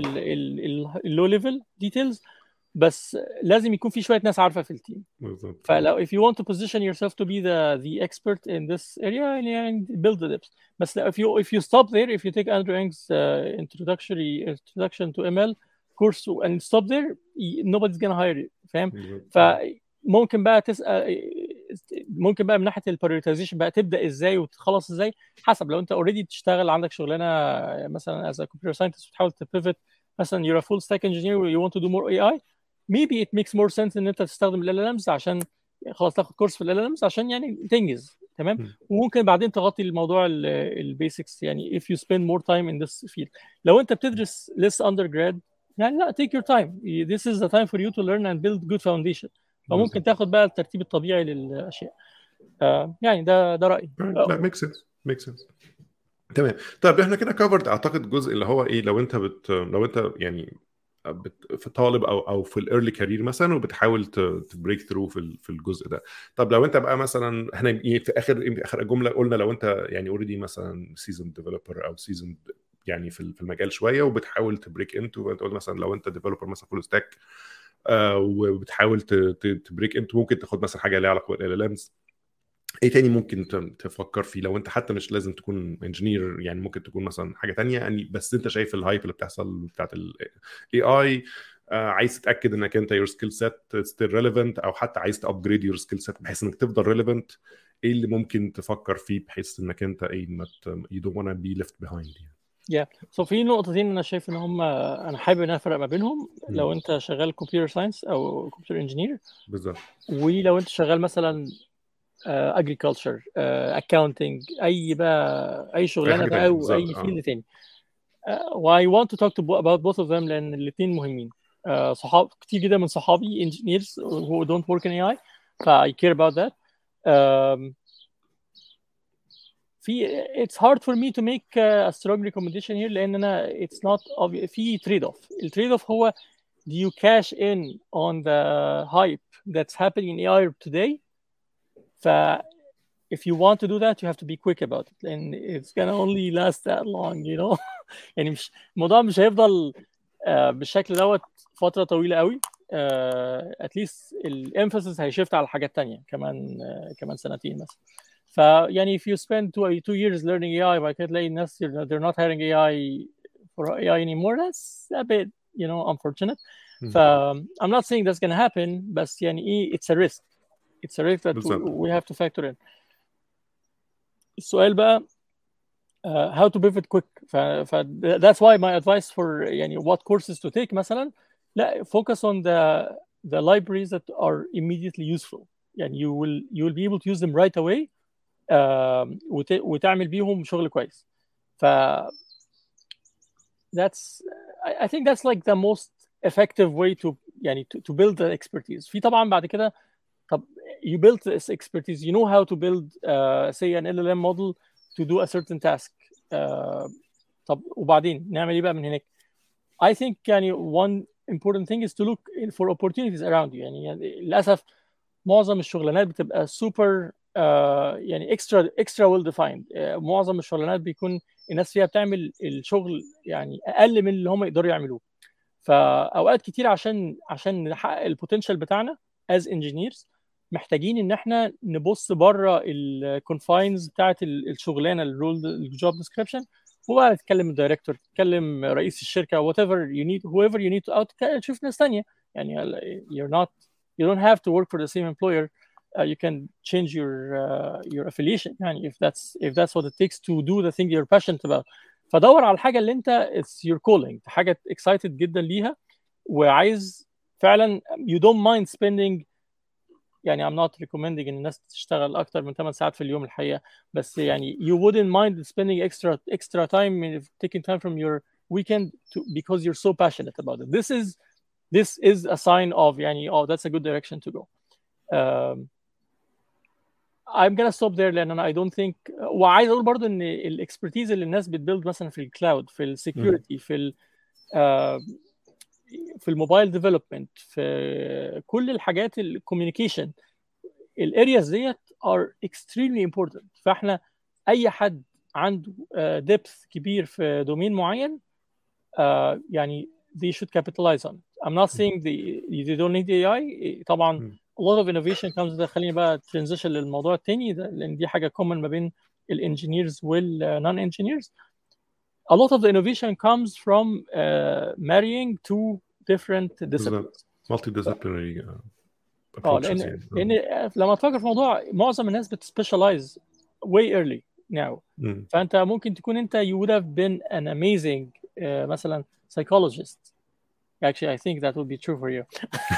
[SPEAKER 2] اللو ليفل ديتيلز بس لازم يكون في شويه ناس عارفه في التيم.
[SPEAKER 1] بالظبط.
[SPEAKER 2] فلو if you want to position yourself to be the the expert in this area and build the depth. بس if you if you stop there if you take Andrew Ng's uh, introductory introduction to M L course and stop there nobody's gonna hire you. فاهم؟ فممكن بقى تسأل ممكن بقى من ناحيه البريوريتايزيشن بقى تبدا ازاي وتخلص ازاي حسب. لو انت اوريدي بتشتغل عندك شغلانه مثلا as a computer scientist وتحاول تبيفت مثلا you're a full stack engineer you want to do more A I maybe it makes more sense ان انت تستخدم ال إل إل إمز عشان خلاص تاخد كورس في ال إل إل إمز عشان يعني تنجز. تمام. وممكن بعدين تغطي الموضوع البيسكس يعني if you spend more time in this field. لو انت بتدرس لسه undergrad يعني لا take your time. This is the time for you to learn and build good foundation. فممكن تاخد بقى الترتيب الطبيعي للاشياء. uh, يعني ده ده رايي.
[SPEAKER 1] لا ميك سنس ميك سنس. تمام. طيب احنا كده كفرد اعتقد الجزء اللي هو ايه لو انت بت لو انت يعني بت... في طالب او او في الايرلي كارير مثلا وبتحاول تبريك ثرو في في الجزء ده. طب لو انت بقى مثلا احنا في اخر في اخر الجمله قلنا لو انت يعني اوريدي مثلا سيزون ديفلوبر او سيزون يعني في في المجال شويه وبتحاول تبريك انتو انت قلت مثلا لو انت ديفلوبر مثلا فول ستاك آه وبتحاول تبريك انتو ممكن تاخد مثلا حاجه ليها علاقه بالال ال امز. ايه تاني ممكن تفكر فيه لو انت حتى مش لازم تكون انجينير يعني ممكن تكون مثلا حاجه تانية يعني بس انت شايف الهايب اللي بتحصل بتاعت الاي اي آه عايز تتاكد انك انت your skill set still relevant، او حتى عايز تابجريد your skill set بحيث انك تفضل relevant. ايه اللي ممكن تفكر فيه بحيث انك انت ايه ما you don't wanna be left behind يعني.
[SPEAKER 2] يا yeah. so في نقطتين انا شايف ان هم انا حابب ان افرق ما بينهم. لو انت شغال كمبيوتر ساينس او كمبيوتر انجينير
[SPEAKER 1] بالظبط،
[SPEAKER 2] ولو انت شغال مثلا اجريكلتشر اكاونتنج اي بقى اي شغلانه بقى او اي فيلد تاني. و I want to talk to about both of them لان الاثنين مهمين. uh, صحاب كتير جدا من صحابي engineers who don't work in إيه آي ف I care about that. um, في it's hard for me to make a strong recommendation here لان انا it's not obvious. في trade off. التريد اوف هو do you cash in on the hype that's happening in إيه آي today. ف if you want to do that you have to be quick about it and it's gonna only last that long, you know. يعني مش الموضوع مش هيفضل uh, بالشكل دوت فترة طويلة قوي. uh, at least الامفاسيس هيشفت على حاجات تانية كمان uh, كمان سنتين مثلا. فيعني if you spend two, two years learning إيه آي بعد كده تلاقي الناس they're not hiring إيه آي for إيه آي anymore, that's a bit, you know, unfortunate. ف I'm not saying that's gonna happen بس يعني ايه it's a risk. It's a risk that we, we have to factor in. السؤال بقى uh, how to pivot quick. ف, ف that's why my advice for يعني what courses to take مثلا لا focus on the the libraries that are immediately useful. يعني you will you will be able to use them right away uh, وت, وتعمل بيهم شغل كويس. ف that's I, I think that's like the most effective way to يعني to, to build the expertise. في طبعا بعد كده طب you build this expertise, you know how to build uh, say an إل إل إم model to do a certain task. uh, طب وبعدين نعمل ايه بقى من هناك؟ I think يعني one important thing is to look for opportunities around you. يعني, يعني للأسف معظم الشغلانات بتبقى super uh, يعني extra extra well defined. uh, معظم الشغلانات بيكون الناس فيها بتعمل الشغل يعني أقل من اللي هم يقدروا يعملوه. فأوقات كتير عشان عشان نحقق البوتنشال بتاعنا as engineers محتاجين ان احنا نبص بره الكونفاينز بتاعت الشغلانه الرول الجوب ديسكريبشن وبقى تتكلم الدايركتور تتكلم رئيس الشركه whatever you need whoever you need to out تشوف ناس ثانيه. يعني you're not you don't have to work for the same employer. uh, you can change your uh, your affiliation يعني if that's if that's what it takes to do the thing you're passionate about. فدور على الحاجه اللي انت it's your calling حاجه excited جدا ليها وعايز فعلا you don't mind spending. يعني I'm not recommending ان الناس تشتغل اكتر من ثمان ساعات في اليوم الحقيقه بس يعني you wouldn't mind spending extra extra time taking time from your weekend to because you're so passionate about it. This is this is a sign of يعني oh that's a good direction to go. um, I'm gonna stop there لان انا I don't think وعايز اقول برضو ان الاكسبرتيز اللي الناس بتبيلد مثلا في الكلاود في السكيورتي في ال uh, في الموبايل ديفلوبمنت في كل الحاجات الكوميونيكيشن الارياز ديت are extremely important. فاحنا اي حد عنده ديبث uh, كبير في دومين معين uh, يعني they should capitalize on it. I'm not saying they, they don't need إيه آي. طبعا a lot of innovation comes ده خليني بقى transition للموضوع التاني ده لان دي حاجه common ما بين الانجينيرز والنون انجينيرز. A lot of the innovation comes from uh, marrying two different disciplines.
[SPEAKER 1] Multidisciplinary uh, approaches.
[SPEAKER 2] اه لان
[SPEAKER 1] يعني.
[SPEAKER 2] لان لما تفكر في موضوع معظم الناس بتسبيشالايز way early now.
[SPEAKER 1] م.
[SPEAKER 2] فانت ممكن تكون انت you would have been an amazing uh, مثلا psychologist. Actually, I think that would be true for you.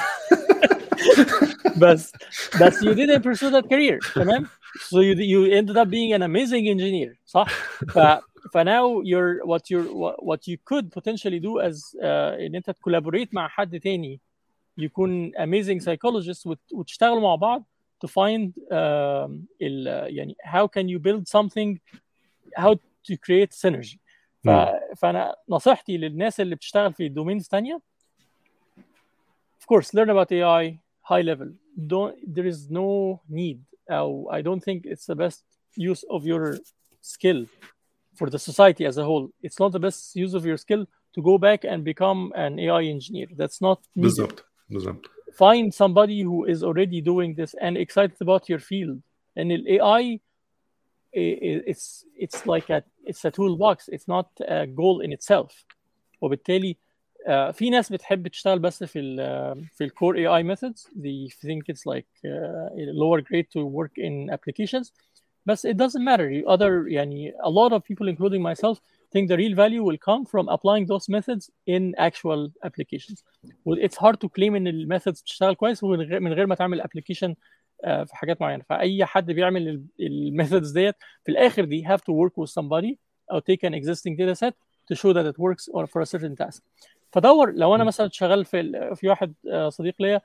[SPEAKER 2] بس بس you didn't pursue that career. تمام. So you you ended up being an amazing engineer. صح. ف فناو you're what you what you could potentially do as uh, ان انت تكولابوريت مع حد تاني يكون amazing psychologist وتشتغلوا مع بعض to find uh, ال, يعني how can you build something how to create synergy. ف, فانا نصيحتي للناس اللي بتشتغل في دومينز تانية of course learn about إيه آي high level. Don't there is no need or I don't think it's the best use of your skill for the society as a whole. It's not the best use of your skill to go back and become an إيه آي engineer. That's not needed.
[SPEAKER 1] بالضبط بالضبط.
[SPEAKER 2] Find somebody who is already doing this and excited about your field. And the إيه آي it's it's like a it's a toolbox. It's not a goal in itself. وبالتالي uh, في ناس بتحب تشتغل بس في ال في الكور إيه آي methods. They think it's like uh, lower grade to work in applications, but it doesn't matter. Other يعني a lot of people, including myself, think the real value will come from applying those methods in actual applications. It's hard to claim ان الميثودز بتشتغل كويس من غير من غير ما تعمل application uh, في حاجات معينه. فاي حد بيعمل الميثودز ديت في الاخر دي have to work with somebody or take an existing data set to show that it works or for a certain task. فدور لو انا مثلا شغال في في واحد صديق ليا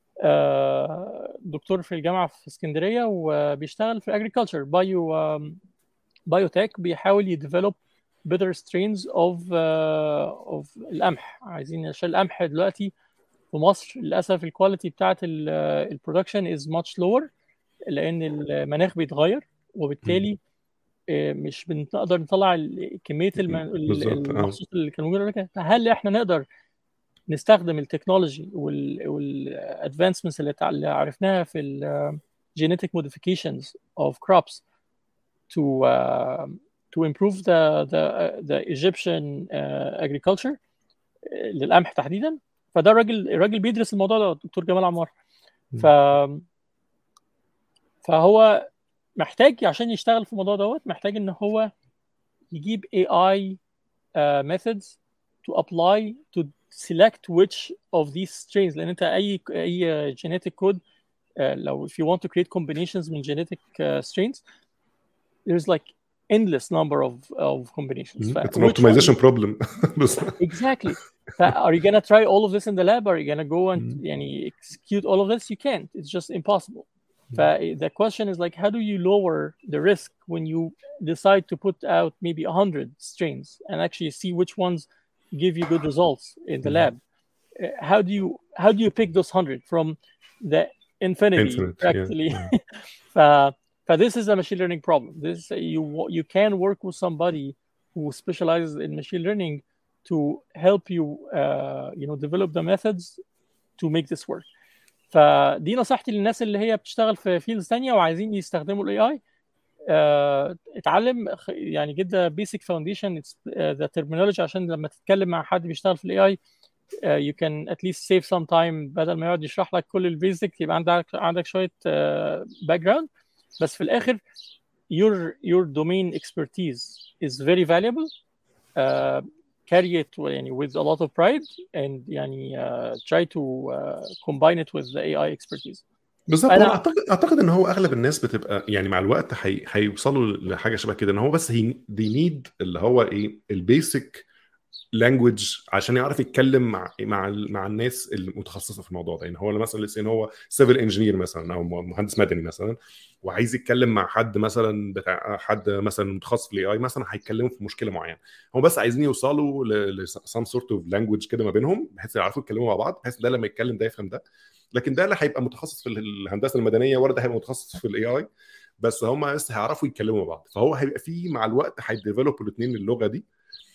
[SPEAKER 2] دكتور في الجامعه في اسكندريه وبيشتغل في agriculture بايو بايوتك بيحاول يديفلوب better strains of uh, of القمح. عايزين عشان القمح دلوقتي في مصر للاسف الكواليتي بتاعه البرودكشن is much lower لان المناخ بيتغير وبالتالي مش بنقدر نطلع كميه المحصول اللي كان موجود. فهل احنا نقدر نستخدم التكنولوجي والادفانسمنتس اللي عرفناها في الجينيتيك موديفيكيشنز اوف كروبس to uh, to improve the the uh, the Egyptian uh, agriculture للقمح تحديدا؟ فده الراجل الراجل بيدرس الموضوع ده الدكتور جمال عمار. ف فهو محتاج عشان يشتغل في الموضوع دوت محتاج ان هو يجيب إيه آي uh, methods to apply to select which of these strains. لان انت اي اي genetic code uh, لو if you want to create combinations من genetic uh, strains there's like endless number of of combinations.
[SPEAKER 1] Mm-hmm. It's an optimization problem.
[SPEAKER 2] Exactly. Are you gonna try all of this in the lab? Are you gonna go and mm-hmm. يعني execute all of this? You can't. It's just impossible. Mm-hmm. The question is like, how do you lower the risk when you decide to put out maybe a hundred strains and actually see which ones give you good results in the mm-hmm. lab? Uh, how do you how do you pick those hundred from the infinity?
[SPEAKER 1] Infinite,
[SPEAKER 2] practically.
[SPEAKER 1] Yeah. Yeah.
[SPEAKER 2] uh, But this is a machine learning problem. This you you can work with somebody who specializes in machine learning to help you uh, you know develop the methods to make this work. فدي نصيحتي للناس اللي هي بتشتغل في فيلدز ثانيه وعايزين يستخدموا الاي اي. uh, اتعلم يعني جدا basic foundation it's uh, the terminology عشان لما تتكلم مع حد بيشتغل في الاي اي uh, you can at least save some time بدل ما يقعد يشرح لك كل البيزك يبقى عندك عندك شويه باك uh, جراوند. بس في الآخر your your domain expertise is very valuable. Uh, carry it يعني with a lot of pride and يعني uh, try to uh, combine it with the إيه آي expertise.
[SPEAKER 1] بالظبط. انا اعتقد اعتقد ان هو اغلب الناس بتبقى يعني مع الوقت هيوصلوا هي... لحاجه شبه كده ان هو بس هي they need اللي هو ايه البيسك لانجويج عشان يعرف يتكلم مع مع مع الناس المتخصصه في الموضوع ده. يعني هو مثلا لسه هو سيفل انجينير مثلا او مهندس مدني مثلا وعايز يتكلم مع حد مثلا بتاع حد مثلا متخصص في الاي اي مثلا هيتكلموا في مشكله معينه. هم بس عايزين يوصلوا لسام سورت اوف لانجويج كده ما بينهم بحيث يعرفوا يتكلموا مع بعض بحيث ده لما يتكلم ده يفهم ده. لكن ده اللي هيبقى متخصص في الهندسه المدنيه ولا ده هيبقى متخصص في الاي اي بس هم لسه هيعرفوا يتكلموا مع بعض. فهو هيبقى في مع الوقت هيديفلوبوا الاثنين اللغه دي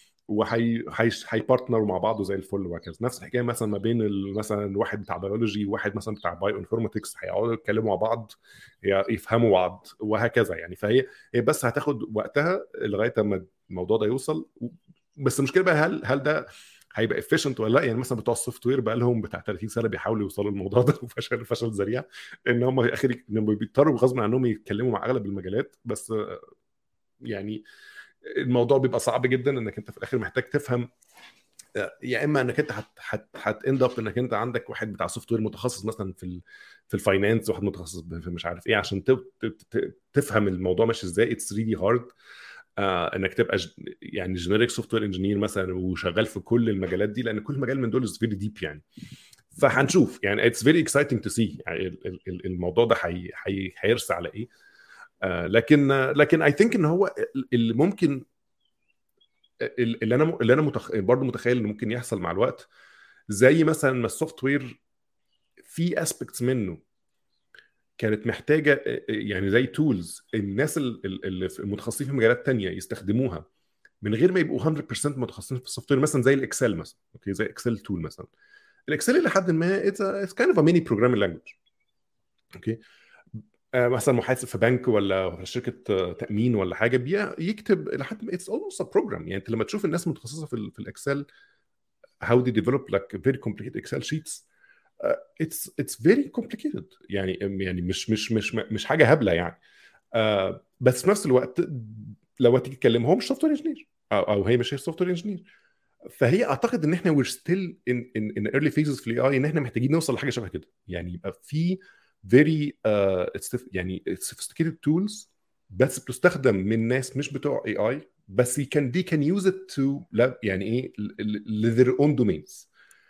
[SPEAKER 1] وهي هي بارتنروا مع بعض زي الفل وهكذا. نفس الحكايه مثلا ما بين مثلا واحد بتاع بيولوجي وواحد مثلا بتاع بايو انفورماتكس هيقعدوا يتكلموا مع بعض يفهموا بعض وهكذا يعني. فهي هي بس هتاخد وقتها لغايه اما الموضوع ده يوصل. بس المشكله بقى هل هل ده هيبقى efficient ولا لا؟ يعني مثلا بتوع السوفت وير بقى لهم بتاع ثلاثين سنه بيحاولوا يوصلوا للموضوع ده وفشل فشل ذريع ان هم في الاخر بيضطروا غصب عنهم يتكلموا مع اغلب المجالات. بس يعني الموضوع بيبقى صعب جدا انك انت في الاخر محتاج تفهم يا اما انك انت هت هت هتاند اب انك انت عندك واحد بتاع سوفت وير متخصص مثلا في في الفاينانس واحد متخصص في مش عارف ايه عشان تفهم الموضوع ماشي ازاي. اتس ريلي هارد آه انك تبقى ج... يعني جينيريك سوفت وير انجينير مثلا وشغال في كل المجالات دي لان كل مجال من دول از فيري ديب يعني. فهنشوف يعني اتس فيري اكسايتنج تو سي يعني الموضوع ده هي... هي... هيرسى على ايه. آه لكن آه لكن اي ثينك ان هو اللي ممكن اللي انا اللي انا متخ... برضه متخيل انه ممكن يحصل مع الوقت زي مثلا ما السوفت وير في اسبيكتس منه كانت محتاجه يعني زي تولز الناس اللي المتخصصين في مجالات تانية يستخدموها من غير ما يبقوا مية بالمية متخصصين في السوفت وير مثلا زي الاكسل مثلا. اوكي زي اكسل تول مثلا. الاكسل الى حد ما اتس كايند اوف ا ميني بروجرامينج لانجويج. اوكي آه مثلا محاسب في بنك ولا شركه تامين ولا حاجه يكتب الى حد ما اتس اولموست ا بروجرام. يعني انت لما تشوف الناس متخصصه في, في الاكسل how they develop like very complicated Excel sheets. uh, it's it's very complicated يعني يعني مش مش مش مش حاجه هبله يعني. uh, بس في نفس الوقت لو تيجي تكلمهم مش سوفت وير انجينير او او هي مش هي سوفت وير انجينير. فهي اعتقد ان احنا we're still in in in early phases في الاي اي ان احنا محتاجين نوصل لحاجه شبه كده، يعني يبقى في very uh, يعني sophisticated tools بس بتستخدم من ناس مش بتوع اي اي، بس can they can use it to يعني ايه ل their own domains.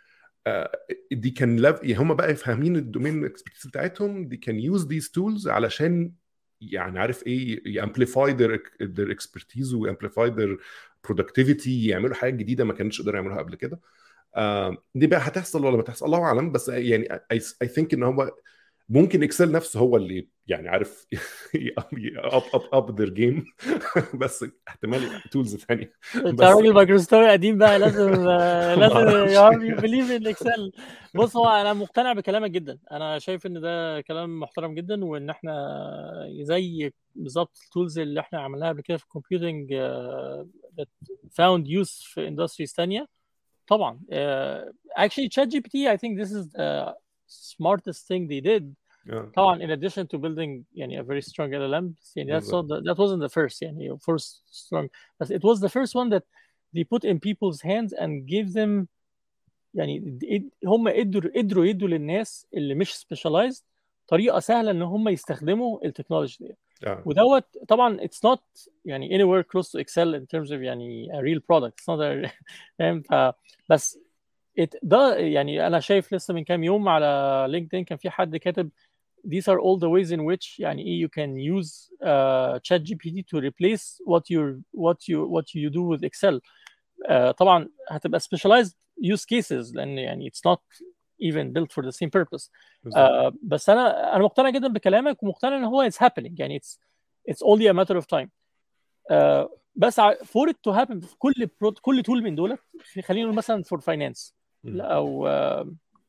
[SPEAKER 1] دي كان يعني هم بقى فاهمين الدومين اكسبرتيز بتاعتهم، دي كان يوز these tools علشان يعني عارف ايه يامبليفاي their their expertise وامبليفاي their productivity، يعملوا حاجات جديده ما كانوش يقدروا يعملوها قبل كده. آه دي بقى هتحصل ولا ما تحصل الله اعلم، بس يعني I, I think ان هو ممكن اكسل نفسه هو اللي يعني عارف اب اب اب their game بس احتمال تولز ثانيه.
[SPEAKER 2] انت راجل مايكروسوفت قديم بقى، لازم لازم يو بليف ان اكسل. بص هو انا مقتنع بكلامك جدا، انا شايف ان ده كلام محترم جدا، وان احنا زي بالظبط التولز اللي احنا عملناها قبل كده في الكمبيوتنج that found use في اندستريز ثانيه طبعا. uh, actually ChatGPT I think this is the smartest thing they did.
[SPEAKER 1] yeah.
[SPEAKER 2] طبعا in addition to building يعني a very strong L L M يعني that's not the, that wasn't the first يعني first strong, but it was the first one that they put in people's hands and gave them يعني هم قدروا قدروا يدوا للناس اللي مش specialized طريقة سهلة ان هم يستخدموا التكنولوجي دي.
[SPEAKER 1] yeah.
[SPEAKER 2] ودوت طبعا it's not يعني anywhere close to Excel in terms of يعني a real product. It's not a فاهم. بس it ده يعني انا شايف لسه من كام يوم على لينكدين كان في حد كاتب these are all the ways in which يعني you can use uh, ChatGPT to replace what you what you what you do with Excel. uh, طبعا هتبقى specialized use cases لان يعني it's not even built for the same purpose. uh, بس انا انا مقتنع جدا بكلامك، ومقتنع ان هو it's happening يعني it's it's only a matter of time. uh, بس for it to happen في كل كل tool من دول، خلينا نقول مثلا for finance او uh,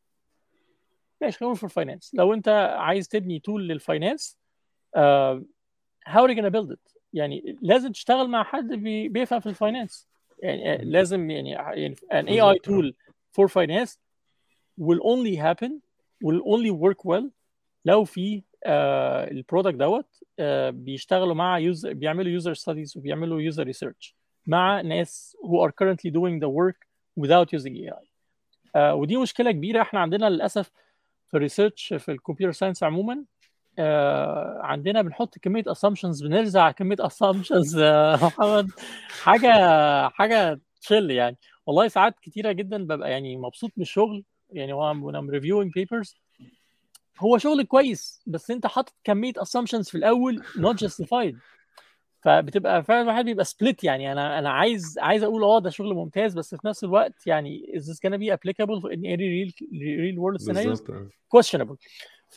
[SPEAKER 2] ماشي خلينا نقول for finance. لو انت عايز تبني تول للفاينانس uh, how are you gonna build it؟ يعني لازم تشتغل مع حد بي, بيفهم في الفاينانس يعني uh, لازم يعني, يعني an A I tool for finance will only happen will only work well لو في uh, البرودكت دوت uh, بيشتغلوا مع يوزر، بيعملوا user studies وبيعملوا user research مع ناس who are currently doing the work without using A I. uh, ودي مشكلة كبيرة احنا عندنا للأسف في الريسيرش في الكمبيوتر ساينس عموما. آه عندنا بنحط كميه assumptions، بنرزع كميه assumptions آه محمد حاجه حاجه تشل يعني. والله ساعات كتيره جدا ببقى يعني مبسوط من الشغل يعني وانا ام ريفيوينج بيبرز، هو شغل كويس بس انت حاطط كميه assumptions في الاول not justified، فبتبقى فعلا الواحد بيبقى سبليت يعني. انا انا عايز عايز اقول اه ده شغل ممتاز، بس في نفس الوقت يعني is this gonna be applicable in any real real world scenarios questionable. ف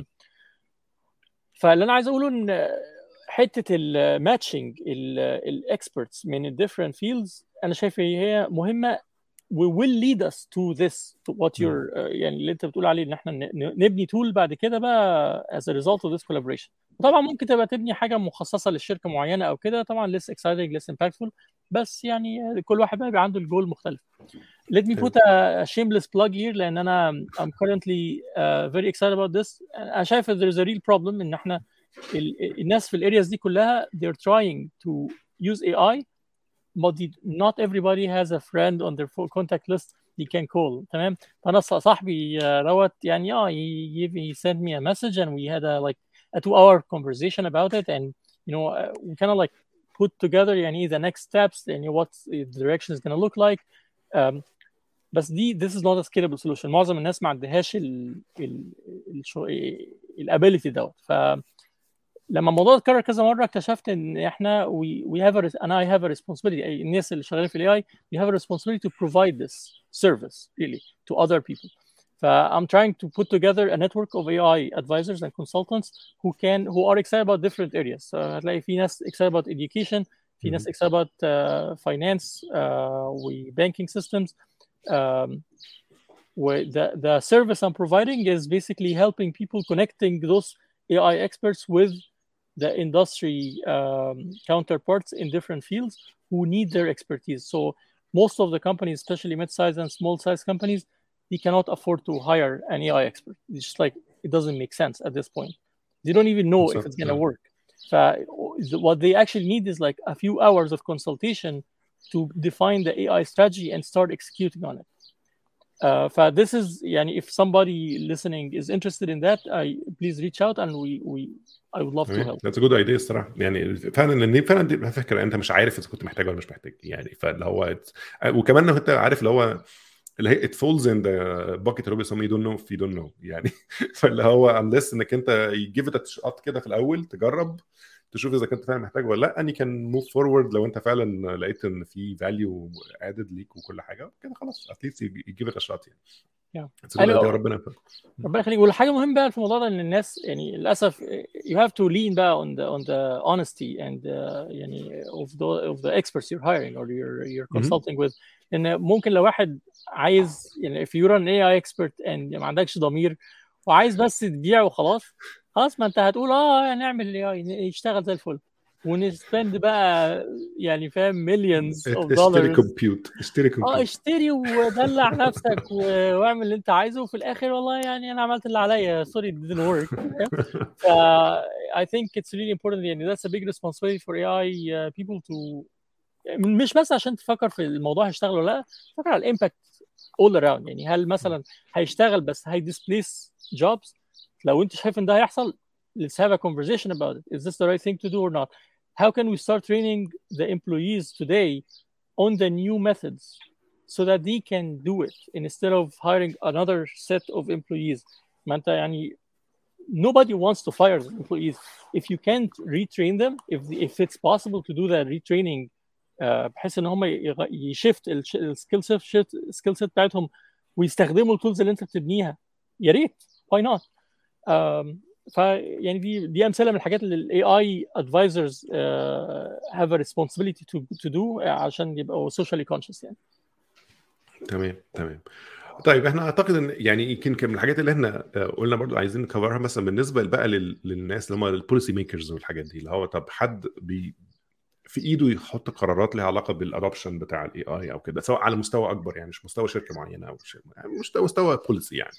[SPEAKER 2] فاللي انا عايز اقوله ان حته الماتشنج الاكسبرتس من الديفرنت فيلدز انا شايف هي مهمه we will lead us to this to what you're uh, يعني اللي انت بتقول عليه ان احنا نبني تول بعد كده بقى as a result of this collaboration. طبعا ممكن تبقى تبني حاجه مخصصه للشركه معينه او كده، طبعا less exciting less impactful، بس يعني كل واحد بقى بيبقى عنده الجول مختلف. Let me put a shameless plug here لان انا I'm currently uh, very excited about this. انا شايف there is a real problem ان احنا الناس في الارياز دي كلها they're trying to use A I but not everybody has a friend on their contact list they can call. تمام. فانا صاحبي دوت يعني اه he, he sent me a message and we had a like a two hour conversation about it and you know uh, we kind of like put together يعني the next steps and what the direction is going to look like. um, بس دي this is not a scalable solution. معظم الناس ما عندهاش ال ال ال الability دوت. ف لما الموضوع اتكرر كذا مره اكتشفت ان احنا we we have a and I have a responsibility. الناس اللي شغالين في الاي اي we have a responsibility to provide this service really to other people. ف I'm trying to put together a network of A I advisors and consultants who can who are excited about different areas. So هتلاقي في ناس excited about education، في ناس excited about uh, finance uh, و banking systems. Um, where the the service I'm providing is basically helping people connecting those A I experts with the industry um, counterparts in different fields who need their expertise. So most of the companies, especially mid-size and small-size companies, they cannot afford to hire an A I expert. It's just like it doesn't make sense at this point. They don't even know
[SPEAKER 1] So,
[SPEAKER 2] if it's going to
[SPEAKER 1] yeah.
[SPEAKER 2] work. So what they actually need is like a few hours of consultation to define the A I strategy and start executing on it. Uh, so this is, yani, if somebody listening is interested in that, I please reach out and we we I would love to help.
[SPEAKER 1] That's a good idea الصراحه. يعني فعلا لان فعلا دي فكره انت مش عارف اذا كنت محتاج ولا مش محتاج يعني. فاللي هو وكمان انت عارف اللي هو اللي هي it falls in the bucket of some you don't know if you don't know يعني. فاللي هو unless انك انت you give it a shot كده في الاول تجرب تشوف اذا كنت فعلا محتاج ولا لا، اني كان موف فورورد لو انت فعلا لقيت ان في فاليو ادد ليك وكل حاجه كده خلاص at least you give it a shot يعني.
[SPEAKER 2] yeah.
[SPEAKER 1] أيوة. ربنا يفرج.
[SPEAKER 2] ربنا يخليك. والحاجه مهمه بقى في الموضوع ده ان الناس يعني للاسف you have to lean بقى on the on the honesty and uh, يعني of the of the experts you're hiring or you're you're consulting with. ان ممكن لو واحد عايز يعني if you're an إيه آي expert and ما عندكش ضمير وعايز بس تبيع وخلاص خلاص ما انت هتقول اه نعمل إيه آي يشتغل زي الفل ونسبند بقى يعني فاهم millions of dollars.
[SPEAKER 1] اشتري كمبيوت اشتري كمبيوت
[SPEAKER 2] اه اشتري ودلع نفسك واعمل اللي انت عايزه وفي الاخر والله يعني انا عملت اللي عليا sorry it didn't work. ف I think it's really important يعني that's a big responsibility for إيه آي uh, people to مش بس عشان تفكر في الموضوع هيشتغل ولا لا، تفكر على الامباكت all around. يعني هل مثلا هيشتغل بس هي displace jobs؟ لو انت شايف ان ده هيحصل let's have a conversation about it. Is this the right thing to do or not? How can we start training the employees today on the new methods so that they can do it instead of hiring another set of employees? ما انت يعني nobody wants to fire the employees. If you can't retrain them, if if it's possible to do that retraining بحيث ان هم يشفت السكيل سيت السكيل سيت بتاعتهم ويستخدموا التولز اللي انت بتبنيها يا ريت why not. ف يعني دي دي امثله من الحاجات اللي الاي اي ادفايزرز have a responsibility to to do عشان يبقوا socially conscious يعني.
[SPEAKER 1] تمام تمام. طيب احنا اعتقد ان يعني يمكن من الحاجات اللي احنا قلنا برضو عايزين نكفرها مثلا بالنسبه بقى للناس اللي هم البوليسي ميكرز والحاجات دي اللي هو طب حد بي في ايده يحط قرارات لها علاقه بالادوبشن بتاع الاي اي او كده سواء على مستوى اكبر يعني مش مستوى شركه معينه او شيء مستوى مستوى بوليسي يعني.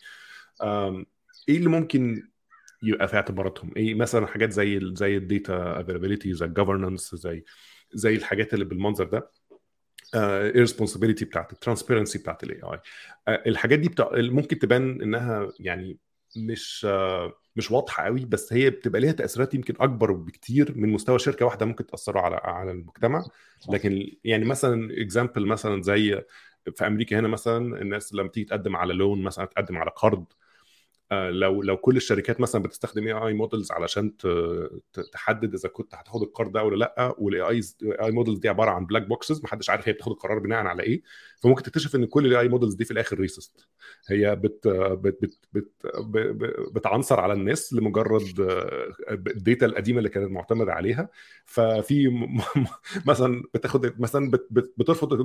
[SPEAKER 1] ايه اللي ممكن يبقى في اعتباراتهم؟ ايه مثلا حاجات زي ال زي الداتا افيلابيلتي زي الجفرنس زي زي الحاجات اللي بالمنظر ده الريسبونسابيلتي بتاعت الترانسبيرنسي بتاعت الاي اي. الحاجات دي بتاع ممكن تبان انها يعني مش مش واضحه قوي بس هي بتبقى ليها تاثيرات يمكن اكبر بكتير من مستوى شركه واحده ممكن تاثر على على المجتمع. لكن يعني مثلا اكزامبل مثلا زي في امريكا هنا مثلا الناس لما تيجي تقدم على لون مثلا تقدم على قرض لو لو كل الشركات مثلا بتستخدم اي اي مودلز علشان تحدد اذا كنت هتاخد القرض ده ولا لا والاي اي اي مودلز دي عباره عن بلاك بوكسز محدش عارف هي بتاخد القرار بناء على ايه فممكن تكتشف ان كل الاي اي مودلز دي في الاخر ريسست هي بت بت بت, بت بتعنصر على الناس لمجرد الداتا القديمه اللي كانت معتمده عليها. ففي مثلا بتاخد مثلا بترفض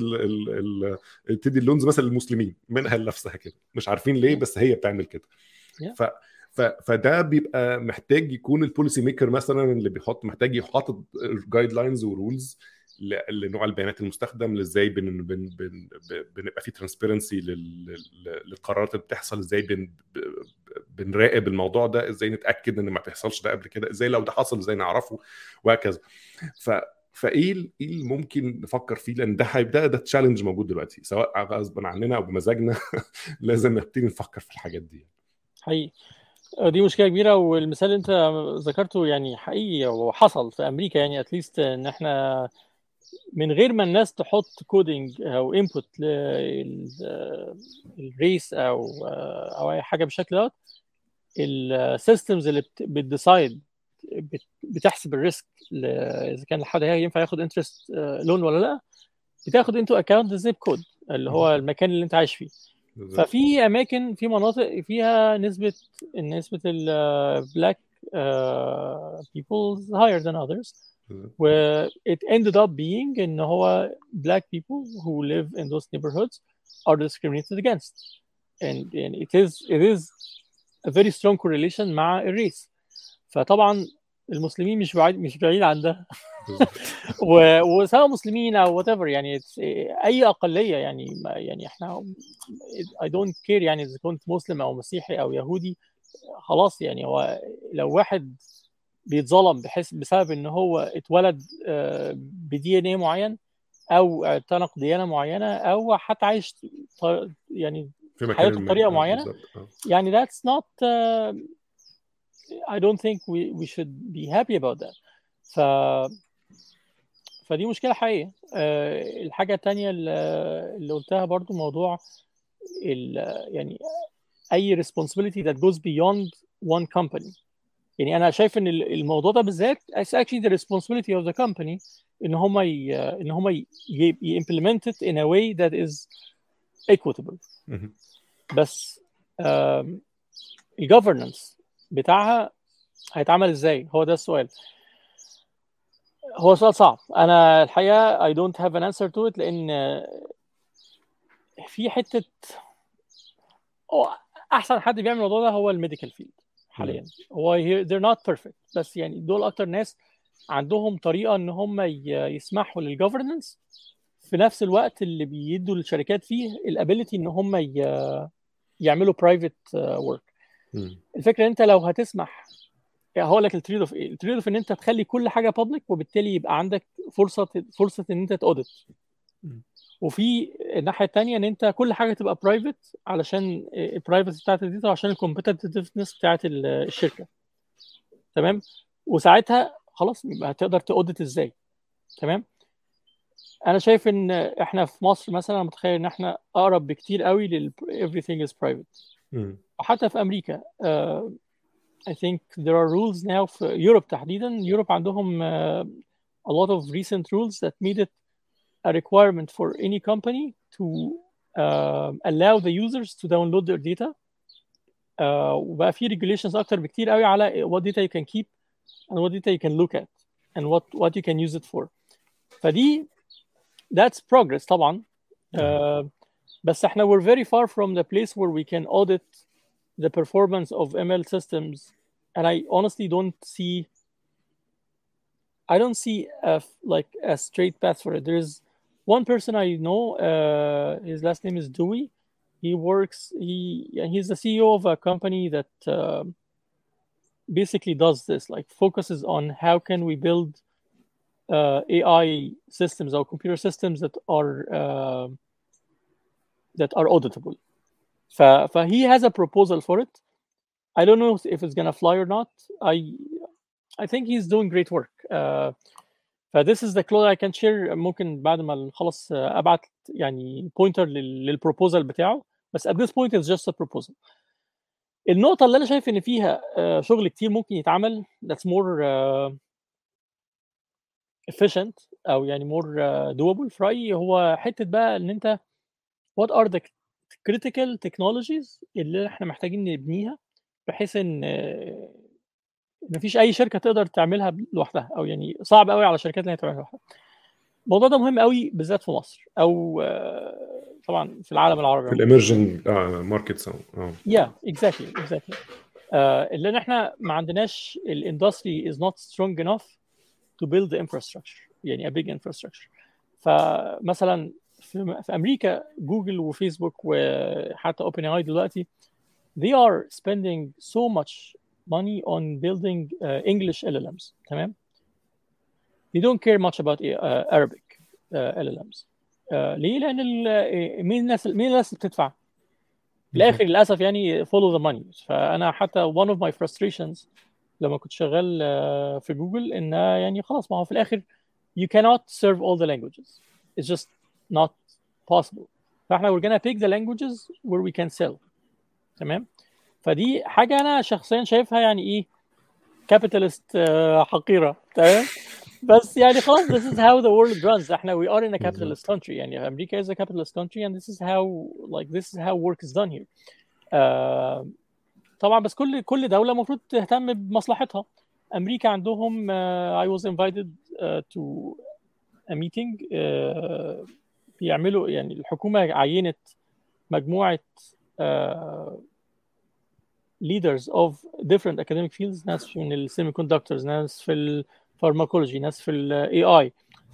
[SPEAKER 1] تدي اللونز مثلا للمسلمين منها لنفسها كده مش عارفين ليه بس هي بتعمل كده. ف ف فده بيبقى محتاج يكون البوليسي ميكر مثلا اللي بيحط محتاج يحط جايد لاينز ورولز لنوع البيانات المستخدم ازاي بن بن بن بنبقى في ترانسبيرنسي للقرارات اللي بتحصل ازاي بن بنراقب الموضوع ده ازاي نتاكد ان ما تحصلش ده قبل كده ازاي لو ده حصل ازاي نعرفه وهكذا. ف فايه ايه اللي ممكن نفكر فيه لان ده هيبدا ده تشالنج موجود دلوقتي سواء غصبا عننا او بمزاجنا لازم نبتدي نفكر في الحاجات دي
[SPEAKER 2] حقيقي. دي مشكله كبيره والمثال اللي انت ذكرته يعني حقيقي وحصل في امريكا يعني اتليست ان احنا من غير ما الناس تحط كودينج او انبوت للريس او او اي حاجه بالشكل ده السيستمز اللي بتديسايد بتحسب الريسك اذا كان حد ينفع ياخد انترست لون ولا لا بتاخد انتو اكاونت الزيب كود اللي هو المكان اللي انت عايش فيه. ففي اماكن في مناطق فيها نسبه نسبه البلاك people higher than others where it ended up being ان هو black people who live in those neighborhoods are discriminated against and, and it is it is a very strong correlation مع الريس. فطبعا المسلمين مش بعيد مش بعيد عن ده
[SPEAKER 1] بالظبط.
[SPEAKER 2] و- وسواء مسلمين او whatever يعني it's- اي اقليه يعني ما- يعني احنا I don't care يعني اذا كنت مسلم او مسيحي او يهودي خلاص يعني هو لو واحد بيتظلم بحيث بسبب ان هو اتولد بدي ان ايه معين او اعتنق ديانه معينه او حتى عايش ط- يعني
[SPEAKER 1] في مكان
[SPEAKER 2] حياته
[SPEAKER 1] ما
[SPEAKER 2] بطريقه
[SPEAKER 1] اه
[SPEAKER 2] معينه
[SPEAKER 1] بالظبط اه
[SPEAKER 2] يعني that's not uh, I don't think we we should be happy about that ف فدي مشكله حقيقيه. أه الحاجه الثانيه اللي اللي قلتها برضو موضوع ال- يعني اي responsibility that goes beyond one company. يعني انا شايف ان ال- الموضوع ده بالذات it's actually the responsibility of the company ان هم ي... ان هم ي... ي... implement it in a way that is equitable.
[SPEAKER 1] مهم.
[SPEAKER 2] بس آم، الجفرنس بتاعها هيتعمل ازاي؟ هو ده السؤال. هو سؤال صعب. انا الحقيقه I don't have an answer to it لان في حته هو احسن حد بيعمل الموضوع ده هو الميديكال فيلد حاليا. هو he- they're not perfect بس يعني دول اكتر ناس عندهم طريقه ان هم ي- يسمحوا للجفرنس في نفس الوقت اللي بيدوا للشركات فيه الابيليتي ان هم ي- يعملوا برايفت ورك.
[SPEAKER 1] مم.
[SPEAKER 2] الفكره انت لو هتسمح يعني هقول لك التريد اوف ايه. التريد اوف ان انت تخلي كل حاجه بابليك وبالتالي يبقى عندك فرصه فرصه ان انت تاودت.
[SPEAKER 1] مم.
[SPEAKER 2] وفي الناحيه الثانيه ان انت كل حاجه تبقى برايفت علشان البرايفسي بتاعت الداتا عشان الكومبتitiveness بتاعت ال- الشركه. تمام. وساعتها خلاص يبقى هتقدر تاودت ازاي. تمام. انا شايف ان احنا في مصر مثلا متخيل ان احنا اقرب بكتير قوي لل everything is private.
[SPEAKER 1] مم.
[SPEAKER 2] وحتى في امريكا uh, I think there are rules now في يوروب تحديدا. يوروب عندهم uh, a lot of recent rules that made it a requirement for any company to uh, allow the users to download their data. uh, وبقى في regulations اكتر بكتير قوي على what data you can keep and what data you can look at and what what you can use it for. فدي that's progress طبعا. uh, بس احنا we're very far from the place where we can audit the performance of M L systems, and I honestly don't see I don't see a, like a straight path for it. There's one person I know, uh, his last name is Dewey. He works he he's the C E O of a company that uh, basically does this, like focuses on how can we build uh, A I systems or computer systems that are uh, that are auditable. ف, ف he has a proposal for it. I don't know if it's gonna fly or not. I I think he's doing great work. Uh, ف this is the close I can share. ممكن بعد ما نخلص uh, ابعت يعني pointer لل, للبروبوزال بتاعه. بس at this point it's just a proposal. النقطة اللي أنا شايف إن فيها uh, شغل كتير ممكن يتعمل that's more uh, efficient أو يعني more uh, doable في رأيي هو حتة بقى إن أنت what are the critical technologies اللي إحنا محتاجين نبنيها بحيث إن uh, مفيش اي شركه تقدر تعملها لوحدها او يعني صعب قوي على الشركات اللي هي تعملها لوحدها. الموضوع ده مهم قوي بالذات في مصر او آه، طبعا في العالم العربي
[SPEAKER 1] في
[SPEAKER 2] عموما.
[SPEAKER 1] الاميرجنج ماركتس اه
[SPEAKER 2] يا اكزاكتلي اكزاكتلي لان احنا ما عندناش الاندستري is not strong enough to build the infrastructure يعني a big infrastructure. فمثلا في, في امريكا جوجل وفيسبوك وحتى اوبن اي دلوقتي they are spending so much money on building uh, English L L Ms. تمام. they don't care much about uh, Arabic uh, L L Ms. uh, ليه؟ لأن ال- مين الناس مين الناس اللي بتدفع؟ في الآخر للأسف يعني follow the money. فأنا حتى one of my frustrations لما كنت شغال uh, في جوجل إن يعني خلاص ما هو في الآخر you cannot serve all the languages. It's just not possible. فإحنا we're gonna pick the languages where we can sell. تمام. فدي حاجة أنا شخصيا شايفها يعني إيه capitalist uh, حقيرة. تمام. بس يعني خلاص this is how the world runs. احنا we are in a capitalist country يعني أمريكا is a capitalist country and this is how like this is how work is done here. uh, طبعا بس كل كل دولة المفروض تهتم بمصلحتها. أمريكا عندهم uh, I was invited uh, to a meeting uh, بيعملوا يعني الحكومة عينت مجموعة uh, leaders of different academic fields، ناس من السيمي كوندكتورز، ناس في الفارماكولوجي، ناس في الاي اي،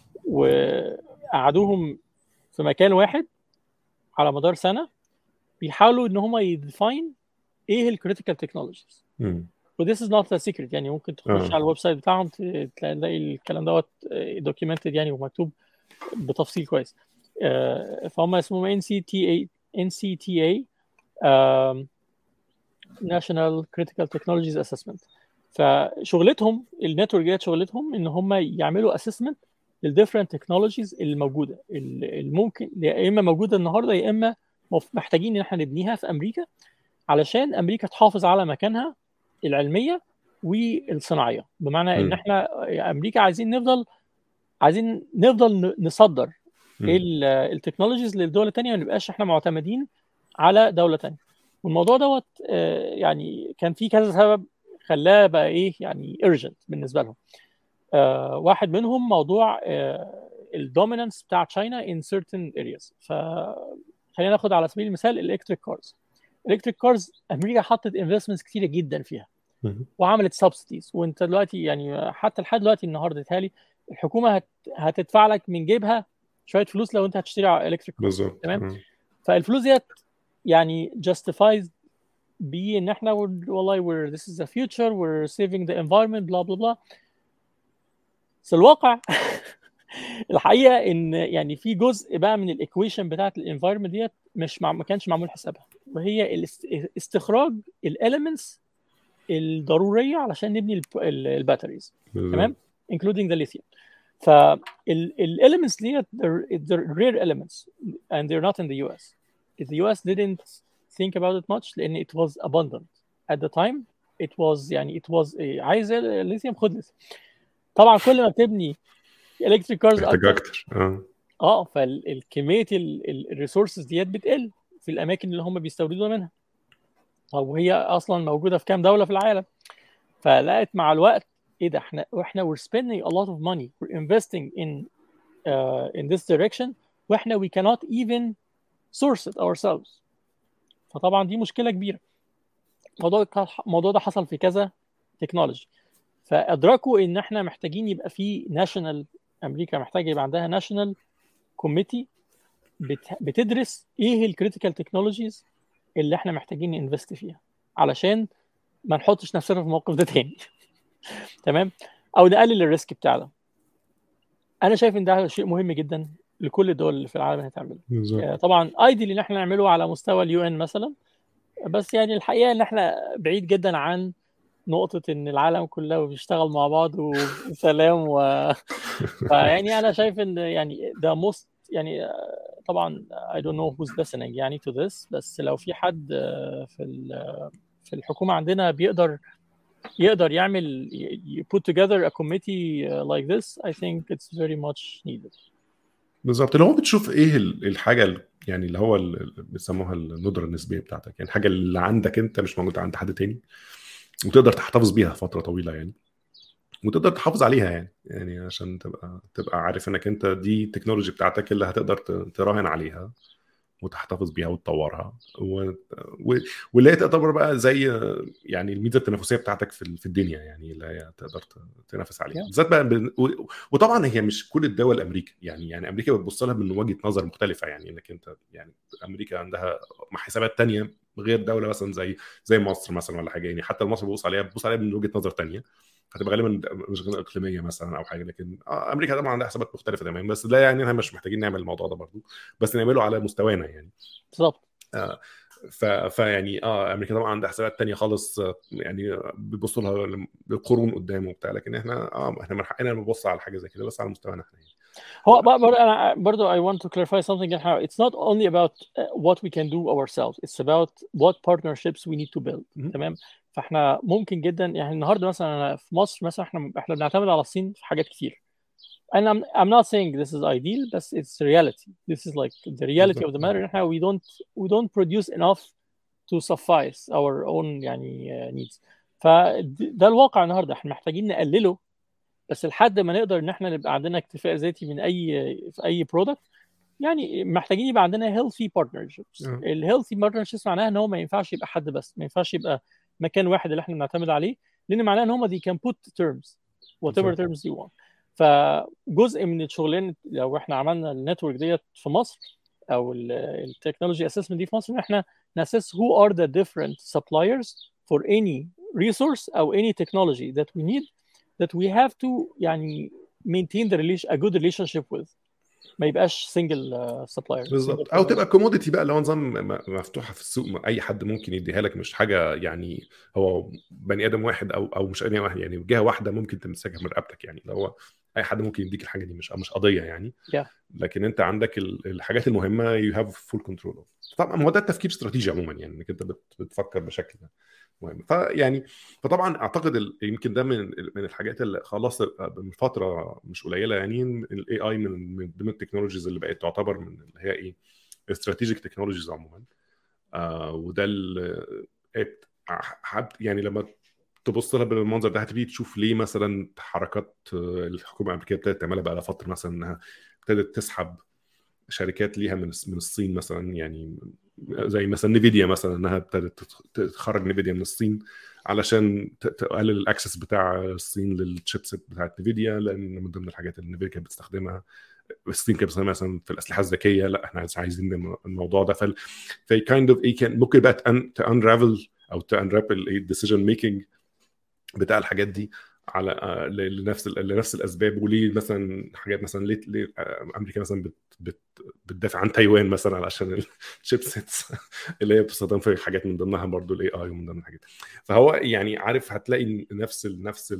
[SPEAKER 2] وقعدوهم في مكان واحد على مدار سنه بيحاولوا ان هم يديفاين ايه الكريتيكال تكنولوجيز. وذس از نوت ا سيكريت، يعني ممكن تخش
[SPEAKER 1] آه.
[SPEAKER 2] على الويب سايت بتاعهم تلاقي الكلام دوت دوكيومنتد يعني ومكتوب بتفصيل كويس. آه، فهم اسمهم إن سي تي إيه إن سي تي إيه um, National Critical Technologies Assessment. فشغلتهم النتورك ديت شغلتهم ان هم يعملوا اسسمنت للديفرنت تكنولوجيز الموجوده اللي ممكن يا اما موجوده النهارده يا اما محتاجين ان احنا نبنيها في امريكا علشان امريكا تحافظ على مكانها العلميه والصناعيه. بمعنى ان
[SPEAKER 1] م.
[SPEAKER 2] احنا امريكا عايزين نفضل عايزين نفضل نصدر التكنولوجيز للدول الثانيه، ما نبقاش احنا معتمدين على دوله ثانيه. والموضوع دوت يعني كان في كذا سبب خلاه بقى ايه يعني urgent بالنسبه لهم. آه واحد منهم موضوع آه الدومينانس بتاع تشاينا in certain areas. فخلينا ناخد على سبيل المثال الالكتريك كارز. الالكتريك كارز امريكا حطت انفستمنتس كتيره جدا فيها وعملت سبسيديز، وانت دلوقتي يعني حتى لحد دلوقتي النهارده تالي الحكومه هت... هتدفع لك من جيبها شويه فلوس لو انت هتشتري الكتريك كارز.
[SPEAKER 1] بالظبط.
[SPEAKER 2] تمام. فالفلوس ديت يعني justifies بي ان احنا والله we're this is the future we're saving the environment blah blah blah. بس الواقع الحقيقه ان يعني في جزء بقى من الايكويشن بتاعت الانفايرمنت ديت مش مع... ما كانش معمول حسابها، وهي استخراج الاليمنتس الضروريه علشان نبني الباتريز. تمام including the lithium. فالاليمنتس ديت they're rare elements and they're not in the U S. The U S didn't think about it much لان it was abundant at the time. it was يعني it was عايز الليثيوم خد ليثيوم. طبعا كل ما بتبني الكتريك كارز
[SPEAKER 1] محتاج اكتر اه
[SPEAKER 2] اه فالكميه الريسورسز ديت بتقل في الاماكن اللي هم بيستوردوا منها. طب وهي اصلا موجوده في كام دوله في العالم؟ فلقيت مع الوقت ايه ده احنا واحنا we're spending a lot of money we're investing in uh, in this direction واحنا we cannot even source it ourselves. فطبعا دي مشكله كبيره. الموضوع الموضوع ده حصل في كذا تكنولوجي، فادركوا ان احنا محتاجين يبقى في ناشونال، امريكا محتاجه يبقى عندها ناشونال كوميتي بتدرس ايه الكريتيكال تكنولوجيز اللي احنا محتاجين ننفست فيها علشان ما نحطش نفسنا في الموقف ده تاني. تمام، او نقلل الريسك بتاعنا. انا شايف ان ده شيء مهم جدا لكل الدول اللي في العالم هتعمله. يعني طبعا ايديال ان احنا نعمله على مستوى اليو ان مثلا، بس يعني الحقيقه ان احنا بعيد جدا عن نقطه ان العالم كله بيشتغل مع بعض وسلام و فيعني انا شايف ان يعني ده most يعني طبعا I don't know who's listening يعني to this، بس لو في حد في في الحكومه عندنا بيقدر يقدر يعمل put together a committee like this, I think it's very much needed.
[SPEAKER 1] بالظبط. اللي هو بتشوف ايه الحاجه يعني اللي هو اللي بيسموها الندره النسبيه بتاعتك، يعني الحاجه اللي عندك انت مش موجوده عند حد تاني وتقدر تحتفظ بيها فتره طويله يعني، وتقدر تحافظ عليها يعني يعني عشان تبقى تبقى عارف انك انت دي التكنولوجي بتاعتك اللي هتقدر تراهن عليها وتحتفظ بيها وتطورها و... و... واللي هي تعتبر بقى زي يعني الميزه التنافسيه بتاعتك في في الدنيا، يعني اللي هي تقدر تنافس عليها بالذات بقى ب... و... وطبعا هي مش كل الدول امريكا يعني يعني امريكا بتبص لها من وجهه نظر مختلفه، يعني انك انت يعني امريكا عندها حسابات تانية غير دوله مثلا زي زي مصر مثلا ولا حاجه، يعني حتى مصر بتبص عليها بتبص عليها من وجهه نظر تانية هتبقى غالبا مش غير اقليميه مثلا او حاجه، لكن امريكا طبعا عندها حسابات مختلفه تماما، بس ده يعني احنا مش محتاجين نعمل الموضوع ده برضو، بس نعمله على مستوانا يعني.
[SPEAKER 2] بالظبط.
[SPEAKER 1] آه ف فيعني اه امريكا طبعا عندها حسابات تانية خالص، يعني بيبصوا لها للقرون قدام وبتاع، لكن احنا اه احنا من حقنا نبص على حاجه زي كده بس على مستوانا احنا يعني.
[SPEAKER 2] هو برضه انا برضه I want to clarify something. It's not only about what we can do ourselves, it's about what partnerships we need to build.
[SPEAKER 1] م-
[SPEAKER 2] تمام. فاحنا ممكن جدا يعني النهارده مثلا أنا في مصر مثلا احنا احنا بنعتمد على الصين في حاجات كتير. And I'm I'm not saying this is ideal, but it's reality. This is like the reality of the matter. Now we don't we don't produce enough to suffice our own يعني uh, needs. فده الواقع النهارده، احنا محتاجين نقلله بس لحد ما نقدر ان احنا نبقى عندنا اكتفاء ذاتي من اي في اي برودكت. يعني محتاجين يبقى عندنا healthy partnerships. الهيلثي partnerships معناها ان هو ما ينفعش يبقى حد بس، ما ينفعش يبقى مكان واحد اللي احنا بنعتمد عليه، لان معناه ان هم they can put terms whatever
[SPEAKER 1] بالظبط.
[SPEAKER 2] terms you want. فجزء من الشغلانه لو احنا عملنا النتورك ديت في مصر او التكنولوجي اسسمنت دي في مصر، ان احنا ناسس who are the different suppliers for any resource او any technology that we need that we have to يعني maintain the relation a good relationship with. ما يبقاش single uh, supplier.
[SPEAKER 1] بالظبط،
[SPEAKER 2] single
[SPEAKER 1] او
[SPEAKER 2] technology.
[SPEAKER 1] تبقى كوموديتي بقى، لو نظام م- مفتوحه في السوق، م- اي حد ممكن يديها لك، مش حاجه يعني هو بني ادم واحد او او مش بني واحد، يعني جهه واحده ممكن تمسكها من رقبتك، يعني لو هو اي حد ممكن يديك الحاجه دي، مش مش قضيه يعني.
[SPEAKER 2] Yeah.
[SPEAKER 1] لكن انت عندك ال- الحاجات المهمه يو هاف فول كنترول. طبعا هو ده التفكير استراتيجي عموما، يعني انك انت بت- بتفكر بشكل مهم. فيعني فطبعا اعتقد ال- يمكن ده من من الحاجات اللي خلاص من فتره مش قليله، يعني الاي اي من من ضمن التكنولوجيز اللي بقت تعتبر من اللي هي ايه استراتيجيك تكنولوجيز عموما. آه وده ال- إيه، حب- يعني لما تبص لها بالمنظر ده هتبتدي تشوف ليه مثلا حركات آه، الحكومه الامريكيه ابتدت تعملها بقى لها فتره، مثلا انها ابتدت تسحب شركات ليها من من الصين مثلا، يعني زي مثلا نيفيديا مثلا، انها ابتدت تخرج نيفيديا من الصين علشان ت- تقلل الاكسس بتاع الصين للشيبسيت بتاعت نيفيديا، لان من ضمن الحاجات اللي نيفيديا كانت بتستخدمها الصين كانت بتستخدمها مثلا في الاسلحه الذكيه. لا احنا عايزين الموضوع ده، فال في كايند اوف ايه كان ممكن بقى تانرافل او تانرابل الديسيجن ميكنج بتاع الحاجات دي على آه، ل- لنفس ال- لنفس الاسباب. وليه مثلا حاجات مثلا ليه, ليه آه، امريكا مثلا بت بت بتدافع عن تايوان مثلا علشان الشيبسيتس اللي هي بتستخدم في حاجات من ضمنها برضو الاي اي ومن ضمن الحاجات. فهو يعني عارف هتلاقي نفس ال نفس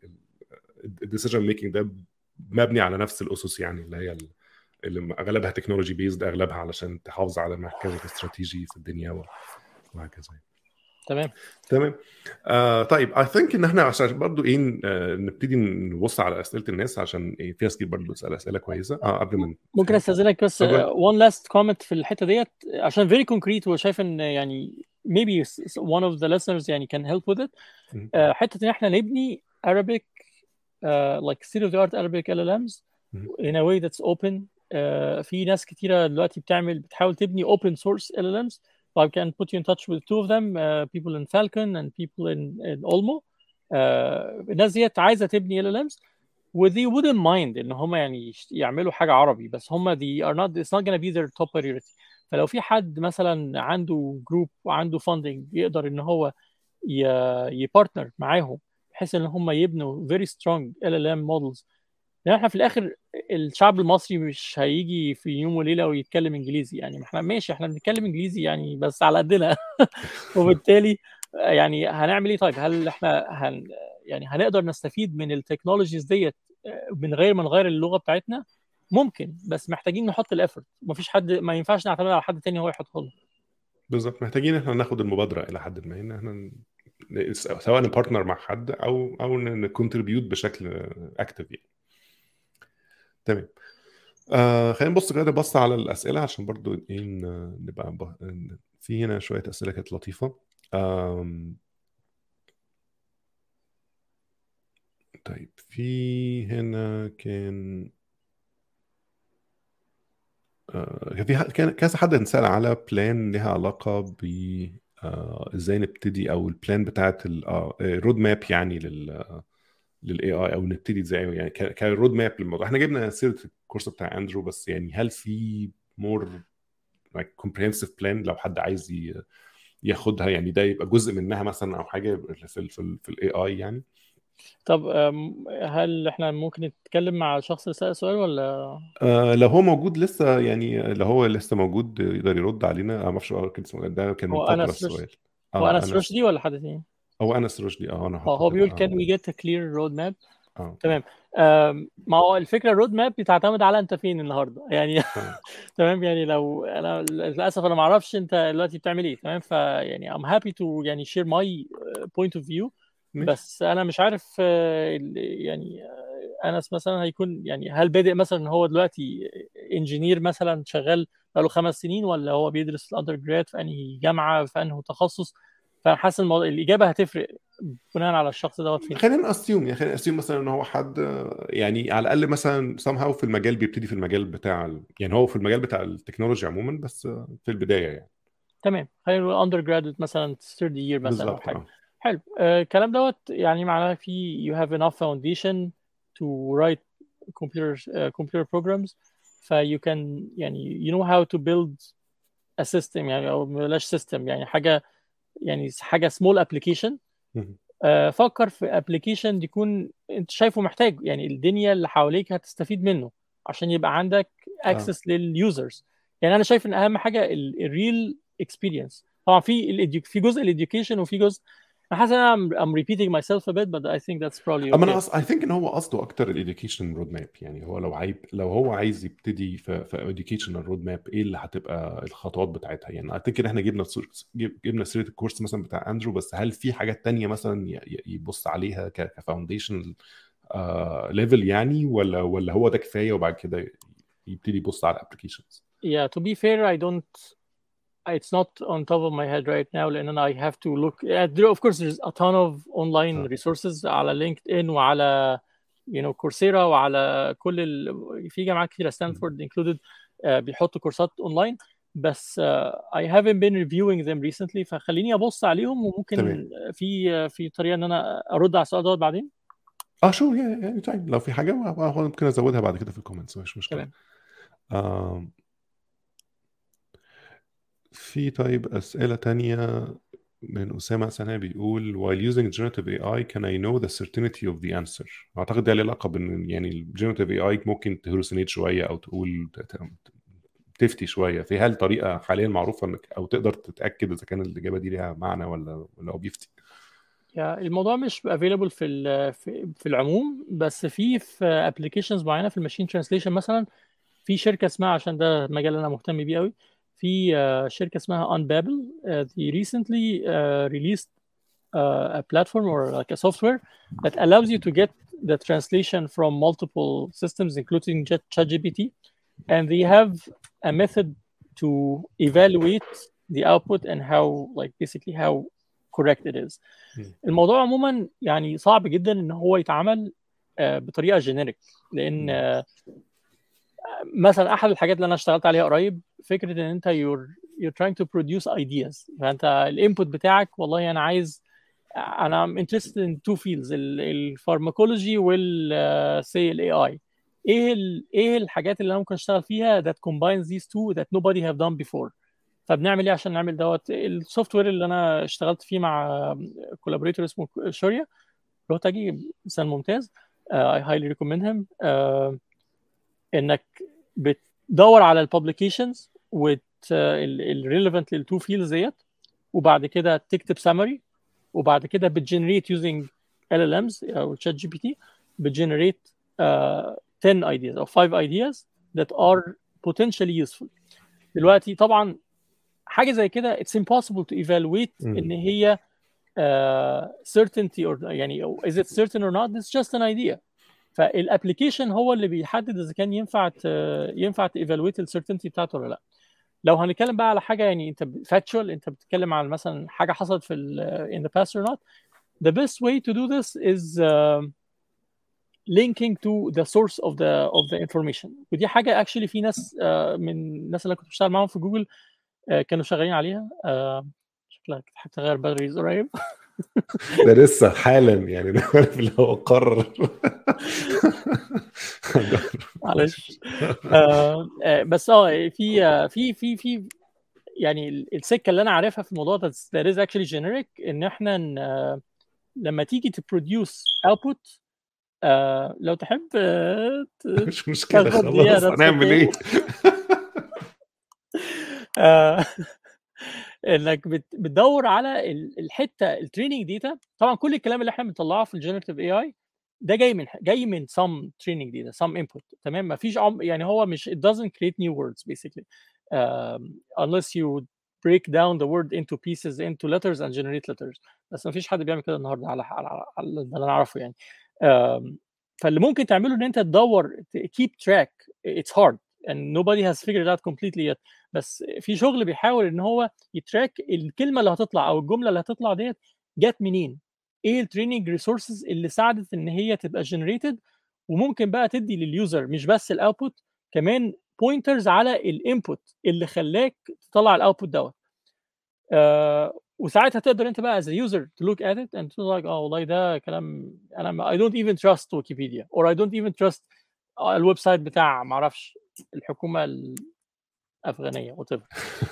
[SPEAKER 1] الديسيجن ميكنج ده مبني على نفس الاسس، يعني اللي هي ال- اللي اغلبها تكنولوجي بيزد، اغلبها علشان تحافظ على مركزك الاستراتيجي في الدنيا وهكذا.
[SPEAKER 2] تمام.
[SPEAKER 1] تمام. آه طيب اي ثينك ان احنا عشان برضو ايه آه نبتدي نبص على اسئله الناس، عشان إيه في ناس كتير برضو تسال اسئله كويسه اه قبل ما
[SPEAKER 2] ممكن استاذنك بس
[SPEAKER 1] اتفضل.
[SPEAKER 2] one last comment في الحته ديت عشان very concrete، وشايف ان يعني maybe one of the listeners يعني can help with it.
[SPEAKER 1] م-
[SPEAKER 2] آه، حته ان احنا نبني Arabic uh, like state of the art Arabic L L Ms
[SPEAKER 1] م-
[SPEAKER 2] in a way that's open. uh, في ناس كتيره دلوقتي بتعمل بتحاول تبني open source L L Ms. So I can put you in touch with two of them, uh, people in Falcon and people in, in Olmo. uh, الناس ديت عايزه تبني L L Ms و they wouldn't mind ان هم يعني يشت- يعملوا حاجه عربي، بس هم they are not it's not gonna be their top priority. فلو في حد مثلا عنده جروب وعنده funding يقدر ان هو يبارتنر معاهم بحيث ان هم يبنوا very strong L L M models. لان احنا في الاخر الشعب المصري مش هيجي في يوم وليله ويتكلم انجليزي، يعني ما احنا ماشي احنا بنتكلم انجليزي يعني بس على قدنا. وبالتالي يعني هنعمل ايه؟ طيب هل احنا هن يعني هنقدر نستفيد من التكنولوجيز ديت من غير ما نغير اللغه بتاعتنا؟ ممكن، بس محتاجين نحط الافورت. مفيش حد، ما ينفعش نعتمد على حد تاني هو يحطه لنا.
[SPEAKER 1] بالظبط، محتاجين احنا ناخد المبادره الى حد ما، ان احنا ن- سواء نبارتنر مع حد او او نكونتريبيوت بشكل اكتف يعني. تمام. آه خلينا نبص كده بص على الاسئله عشان برضو ايه ن- نبقى ب- في هنا شويه اسئله كانت لطيفه. آم، طيب في هنا كان آه، كان في ح- كان كذا حد نسأل على بلان لها علاقة ب آه، ازاي نبتدي، او البلان بتاعت الرود ماب يعني لل للاي اي، او نبتدي ازاي يعني كرود ماب للموضوع. احنا جبنا سيره الكورس بتاع اندرو، بس يعني هل في مور لايك كومبريهنسيف بلان لو حد عايز ي- ياخدها، يعني ده يبقى جزء منها مثلا او حاجه في ال في ال في الاي اي يعني.
[SPEAKER 2] طب أم، هل احنا ممكن نتكلم مع الشخص اللي سأل سؤال ولا؟
[SPEAKER 1] آه لو هو موجود لسه، يعني لو هو لسه موجود يقدر يرد علينا. انا ما اعرفش هو كان اسمه- ده كان من
[SPEAKER 2] هو
[SPEAKER 1] فتره
[SPEAKER 2] انس رشدي؟
[SPEAKER 1] السؤال.
[SPEAKER 2] هو
[SPEAKER 1] اه
[SPEAKER 2] انس
[SPEAKER 1] انس،
[SPEAKER 2] رشدي ولا حد تاني؟
[SPEAKER 1] هو انس رشدي. اه انا
[SPEAKER 2] اه
[SPEAKER 1] هحطه
[SPEAKER 2] هو
[SPEAKER 1] كده.
[SPEAKER 2] بيقول
[SPEAKER 1] اه
[SPEAKER 2] can we get a clear road map.
[SPEAKER 1] اه
[SPEAKER 2] تمام. أم، ما هو الفكره الرود ماب بتعتمد على انت فين النهارده يعني.
[SPEAKER 1] اه
[SPEAKER 2] تمام. يعني لو انا للاسف انا ما اعرفش انت دلوقتي بتعمل ايه، تمام، فيعني I'm happy to يعني share my uh, point of view.
[SPEAKER 1] ماشي.
[SPEAKER 2] بس انا مش عارف آه، ال- يعني آه، انس مثلا هيكون يعني هل بادئ مثلا ان هو دلوقتي انجينير مثلا شغال بقاله خمس سنين، ولا هو بيدرس الاندر جراد في انهي جامعه في انهي تخصص؟ فانا حاسس الموضوع الاجابه هتفرق بناء على الشخص دوت فين.
[SPEAKER 1] خلينا اسيوم يعني خلينا اسيوم مثلا ان هو حد آه، يعني على الاقل مثلا somehow في المجال بيبتدي في المجال بتاع ال... يعني هو في المجال بتاع التكنولوجيا عموما، بس آه، في البدايه يعني.
[SPEAKER 2] تمام. خلينا نقول اندر جرادويت مثلا ثيرد يير مثلا او
[SPEAKER 1] بالظبط
[SPEAKER 2] حاجه.
[SPEAKER 1] اه.
[SPEAKER 2] حلو. آه، الكلام دوت يعني معناه في you have enough foundation to write computer uh, computer programs, ف you can يعني you know how to build a system يعني او بلاش system يعني حاجه يعني حاجه small application.
[SPEAKER 1] مهم.
[SPEAKER 2] آه، فكر في ابلكيشن يكون انت شايفه محتاج، يعني الدنيا اللي حواليك هتستفيد منه عشان يبقى عندك
[SPEAKER 1] اه
[SPEAKER 2] اكسس لليوزرز. يعني انا شايف ان اهم حاجه الريل اكسبيرينس. طبعا في ال في جزء الاديوكيشن وفي جزء، انا حاسس ان انا I'm, I'm repeating myself a bit but I think that's probably
[SPEAKER 1] اما انا
[SPEAKER 2] okay.
[SPEAKER 1] أص... I think ان هو قصده اكتر الاديوكيشن رود ماب. يعني هو لو عايب لو هو عايز يبتدي في في educational رود ماب، ايه اللي هتبقى الخطوات بتاعتها؟ يعني I think ان احنا جبنا سور- جب- جبنا سيره الكورس مثلا بتاع اندرو، بس هل في حاجات تانية مثلا ي- ي- يبص عليها كفاونديشن ليفل يعني، ولا ولا هو ده كفايه وبعد كده يبتدي يبص على الابلكيشنز؟
[SPEAKER 2] Yeah, to be fair I don't it's not on top of my head right now لان I have to look yeah, there, of course there's a ton of online resources على لينكد ان وعلى you know كورسيرا وعلى كل ال... في جامعات كتيره ستانفورد included uh, بيحطوا كورسات اونلاين، بس uh, I haven't been reviewing them recently، فخليني ابص عليهم وممكن
[SPEAKER 1] تمام.
[SPEAKER 2] في في طريقه ان انا ارد على السؤال دوت بعدين.
[SPEAKER 1] اه شو يعني طيب، لو في حاجه ممكن ازودها بعد كده في الكومنتس، مش مشكله.
[SPEAKER 2] تمام.
[SPEAKER 1] آه في طيب أسئلة تانية من أسامة سنة بيقول while using generative إيه آي can I know the certainty of the answer؟ أعتقد ده له علاقة بإن يعني ال generative إيه آي ممكن تهلوسينيت شوية أو تقول تفتي شوية. في هل طريقة حاليا معروفة إنك أو تقدر تتأكد إذا كان الإجابة دي ليها معنى ولا ولا هو بيفتي؟
[SPEAKER 2] يعني الموضوع مش available في ال- في في العموم، بس في في applications معينه في الماشين ترانسليشن مثلا. في شركه اسمها، عشان ده مجال انا مهتم بيه قوي، في uh, شركه اسمها Unbabel. uh, they recently uh, released uh, a platform or like a software that allows you to get the translation from multiple systems including Chat- ChatGPT, and they have a method to evaluate the output and how like basically how correct it is. الموضوع عموما يعني صعب جدا ان هو يتعمل uh, بطريقه جينيريك، لان uh, مثلا احد الحاجات اللي انا اشتغلت عليها قريب فكره ان انت you're you're trying to produce ideas. فانت الانبوت بتاعك والله انا عايز، انا I'm interested in two fields الفارماكولوجي وال say الاي اي. ايه ال ايه الحاجات اللي انا ممكن اشتغل فيها that combines these two that nobody have done before. فبنعمل ايه عشان نعمل دوت؟ السوفت وير اللي انا اشتغلت فيه مع كولابوريتور اسمه شوريا روتاجي مثال ممتاز. uh, I highly recommend him. uh, انك بتدور على الببليكيشنز والريليفنت للتو فيلدز ديت، وبعد كده تكتب سامري، وبعد كده بتجنريت يوزنج ال ال امز او شات جي بي تي بتجنريت ten ideas او five ideas that are potentially useful. دلوقتي طبعا حاجه زي كده it's impossible to evaluate ان هي uh, certainty or يعني is it certain or not. It's just an idea. فالابلكيشن هو اللي بيحدد اذا كان ينفع ت... ينفع تيفالويت السيرتينتي بتاعته ولا لا. لو هنتكلم بقى على حاجه يعني انت فاكتشوال، انت بتتكلم عن مثلا حاجه حصلت في ال in the past or not, the best way to do this is uh, linking to the source of the of the information. ودي حاجه actually في ناس uh, من الناس اللي كنت بشتغل معاهم في جوجل uh, كانوا شغالين عليها. uh, شكلك تحب تغير باتريز قريب.
[SPEAKER 1] ده لسه حالا يعني، ده عارف اللي هو قرر.
[SPEAKER 2] معلش. آه آه بس اه في آه في في في يعني السكه اللي انا عارفها في الموضوع ده that is actually generic ان احنا ن- لما تيجي تبروديوس output آه لو تحب آه ت-
[SPEAKER 1] مش مشكلة
[SPEAKER 2] تاخد دقيقه
[SPEAKER 1] خلاص،
[SPEAKER 2] that's
[SPEAKER 1] هنعمل
[SPEAKER 2] okay.
[SPEAKER 1] ايه؟
[SPEAKER 2] آه انك بت- بتدور على ال- الحته التريننج داتا. طبعا كل الكلام اللي احنا بنطلعه في الجنريتيف اي اي ده جاي من جاي من some training data some input. تمام، ما فيش عم يعني هو مش it doesn't create new words basically um, unless you break down the word into pieces into letters and generate letters. بس ما فيش حد بيعمل كده النهارده على على, على, على اللي انا اعرفه يعني. um, فاللي ممكن تعمله ان انت تدور keep track. It's hard and nobody has figured it out completely yet. بس في شغل بيحاول ان هو يتراك الكلمه اللي هتطلع او الجمله اللي هتطلع ديت جت منين، ايه التريننج ريسورسز اللي ساعدت ان هي تبقى جنريتد، وممكن بقى تدي لليوزر مش بس الاوتبوت كمان بوينترز على الانبوت اللي خلاك تطلع الاوتبوت دوت. آه وساعتها تقدر انت بقى as a user to look at it and to like اه والله ده كلام انا I don't even trust Wikipedia or I don't even trust الويب سايت بتاع معرفش الحكومة الأفغانية whatever.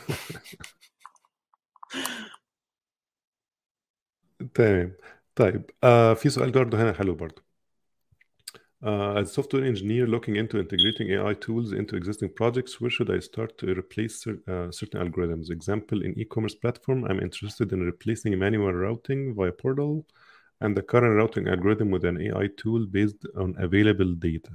[SPEAKER 1] تمام. طيب آه في سؤال برضه هنا حلو برضه. Uh, as a software engineer looking into integrating A I tools into existing projects, where should I start to replace cer- uh, certain algorithms? Example, in e-commerce platform, I'm interested in replacing manual routing via portal and the current routing algorithm with an A I tool based on available data.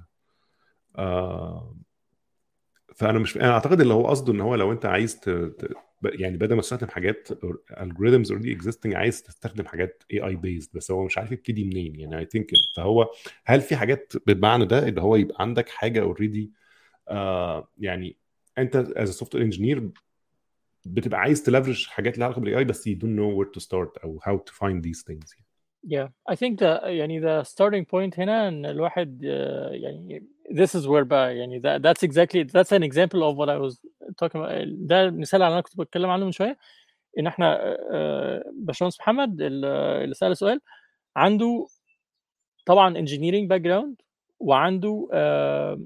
[SPEAKER 1] Uh, فانا مش انا اعتقد اللي هو قصده ان هو لو انت عايز ت... ت... يعني بدل ما تستخدم حاجات algorithms already existing عايز تستخدم حاجات A I based، بس هو مش عارف يبتدي منين يعني. I think فهو هل في حاجات بالمعنى ده اللي هو يبقى عندك حاجه already آه يعني انت as a software engineer بتبقى عايز تلفرج حاجات لها علاقه بالاي اي بس you don't know where to start او how to find these things.
[SPEAKER 2] Yeah, I think the يعني the starting point هنا إن الواحد uh, يعني this is where بقى يعني that, that's exactly that's an example of what I was talking about. ده مثال على اللي أنا كنت بتكلم عنه من شوية، إن إحنا uh, باشمهندس محمد اللي سأل سؤال عنده طبعا engineering background وعنده uh,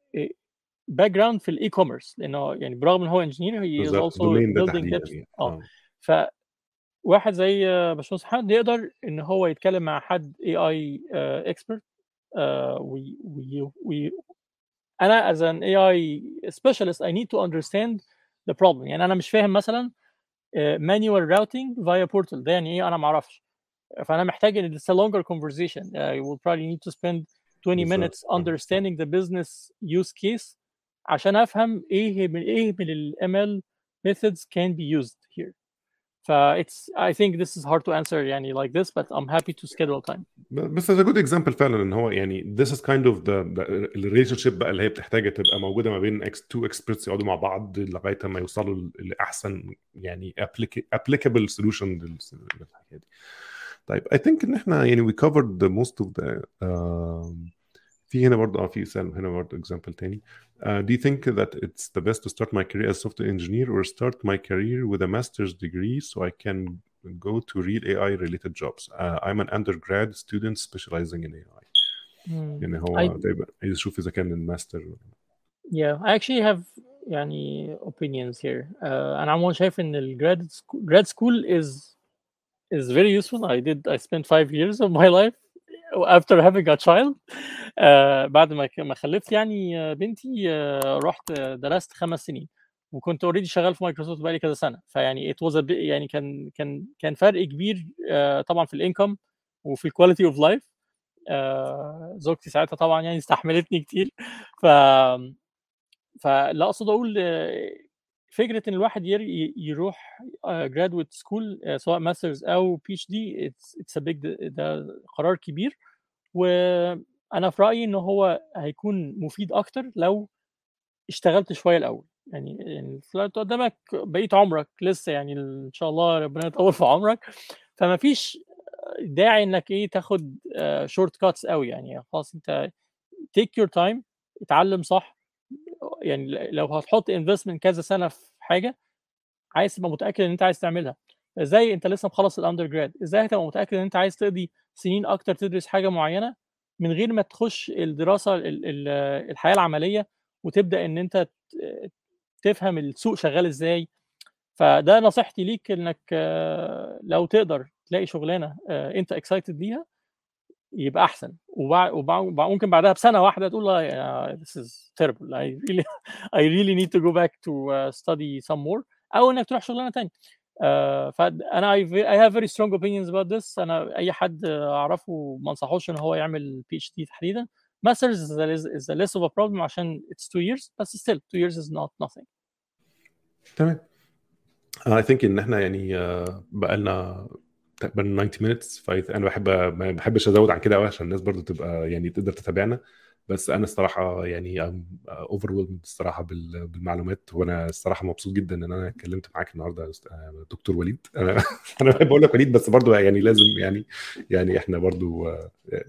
[SPEAKER 2] باك جراوند في الاي كوميرس، لانه يعني برغم ان هو انجينير هي از
[SPEAKER 1] بالظبط
[SPEAKER 2] اولسو
[SPEAKER 1] دومين ده
[SPEAKER 2] بيلدينج
[SPEAKER 1] تحديدا
[SPEAKER 2] ابس.
[SPEAKER 1] يعني.
[SPEAKER 2] اه فواحد زي باشمهندس محمد يقدر ان هو يتكلم مع حد اي اي اكسبرت وي وي وي انا as an إيه آي specialist I need to understand the problem. يعني انا مش فاهم مثلا uh, manual routing via portal ده يعني ايه، انا ما اعرفش، فانا محتاج ان it's a longer conversation. uh, I will probably need to spend twenty
[SPEAKER 1] بالظبط.
[SPEAKER 2] minutes understanding the business use case عشان افهم ايه من ايه من ال إم إل methods can be used here. ف it's I think this is hard to answer يعني like this, but I'm happy to schedule time.
[SPEAKER 1] بس ده جود اكزامبل فعلا ان هو يعني this is kind of the, the relationship بقى اللي هي بتحتاج تبقى موجوده ما بين اكس تو experts يقعدوا مع بعض لغايه ما يوصلوا لاحسن يعني applicable solution للحاجه دي. طيب I think ان احنا يعني we covered the most of the uh, في هنا برضه اه في سؤال هنا برضه example تاني. Uh, do you think that it's the best to start my career as software engineer or start my career with a master's degree so I can go to real A I related jobs? Uh, I'm an undergrad student specializing in A I.
[SPEAKER 2] Hmm.
[SPEAKER 1] يعني
[SPEAKER 2] I
[SPEAKER 1] هو طيب عايز اشوف اذا كان الماستر.
[SPEAKER 2] yeah I actually have يعني opinions here. uh, انا عموما شايف ان ال grad school, grad school is is very useful. I did I spent five years of my life after having a child. uh, بعد ما ك- ما خلفت يعني آه، بنتي آه، رحت آه، درست خمس سنين وكنت اوريدي شغال في مايكروسوفت بقالي كذا سنه، فيعني it was a bit يعني كان كان كان فرق كبير آه، طبعا في الانكم وفي الكواليتي اوف لايف. زوجتي ساعتها طبعا يعني استحملتني كتير. ف فلا اقصد اقول آه، فكره ان الواحد ير- ي- يروح جرادويت سكول سواء ماسترز او بي اتش دي اتس ا بيج، ده قرار كبير. وانا في رايي ان هو هيكون مفيد اكتر لو اشتغلت شويه الاول. يعني يعني طلعت قدامك بقيت عمرك لسه يعني ان شاء الله ربنا يطول في عمرك، فما فيش داعي انك ايه تاخد شورت كاتس قوي. يعني خلاص انت تيك يور تايم، اتعلم صح. يعني لو هتحط انفستمنت كذا سنه في حاجه عايز تبقى متاكد ان انت عايز تعملها. ازاي انت لسه مخلص الاندر جراد، ازاي هتبقى متاكد ان انت عايز تقضي سنين اكتر تدرس حاجه معينه من غير ما تخش الدراسه ال- ال- الحياه العمليه وتبدا ان انت ت- تفهم السوق شغال ازاي. فده نصيحتي ليك انك آه، لو تقدر تلاقي شغلانه آه، انت اكسايتد ليها يبقى احسن. وبع... وبع... وبع... ممكن بعدها بسنه واحده تقول لا يا- this is terrible I really I really need to go back to uh, study some more، او انك تروح شغلانه تانية. uh, فانا I, ve- I have very strong opinions about this. انا اي حد اعرفه ما انصحوش ان هو يعمل بي اتش دي تحديدا. masters is, a, is a less of a problem عشان it's two years but still two years is not nothing.
[SPEAKER 1] تمام. I think ان احنا يعني آه، بقالنا تقريبا تسعين minutes، فانا بحب ما بحبش ازود عن كده قوي عشان الناس برضو تبقى يعني تقدر تتابعنا. بس انا الصراحه يعني اوفر ويلد الصراحه بال- بالمعلومات، وانا الصراحه مبسوط جدا ان انا اتكلمت معاك النهارده يا أست- آه، دكتور وليد. انا انا بحب اقول لك وليد بس برضو يعني لازم يعني يعني احنا برضو آه،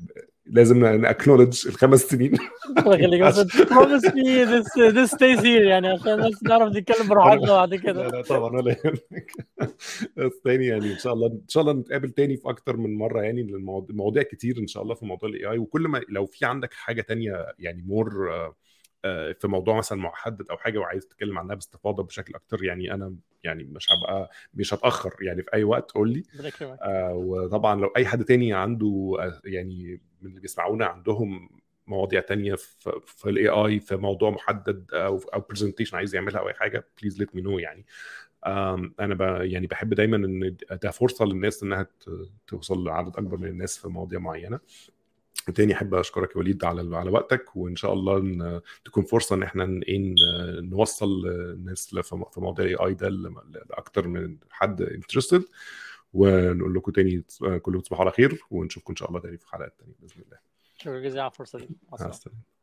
[SPEAKER 1] لازم ناكنولج الخمس سنين.
[SPEAKER 2] خليك بس promise me this this stays here يعني عشان بس نعرف نتكلم براحتنا بعد كده.
[SPEAKER 1] لا لا طبعا ولا يهمك. بس تاني يعني ان شاء الله ان شاء الله نتقابل تاني في اكتر من مره يعني، المواضيع كتير ان شاء الله في موضوع الاي اي. وكل ما لو في عندك حاجه تانية يعني مور في موضوع مثلا محدد او حاجه وعايز تتكلم عنها باستفاضه بشكل اكتر، يعني انا يعني مش هبقى مش هتاخر يعني في اي وقت قول لي. آه وطبعا لو اي حد تاني عنده آه يعني من اللي بيسمعونا عندهم مواضيع تانية في في الاي اي في موضوع محدد او او برزنتيشن عايز يعملها او اي حاجه، بليز ليت مي نو يعني. انا ب يعني بحب دايما ان ده فرصه للناس انها توصل لعدد اكبر من الناس في مواضيع معينه. تاني احب اشكرك يا وليد على على وقتك، وان شاء الله إن تكون فرصه ان احنا ان نوصل الناس في موضوع الاي اي ده لاكتر من حد انترستد. ونقول لكم تاني كلكم تصبحوا على خير، ونشوفكم ان شاء الله تاني في حلقات تانية باذن الله.
[SPEAKER 2] شكرا جزيلا على الفرصه دي.
[SPEAKER 1] مع السلامه.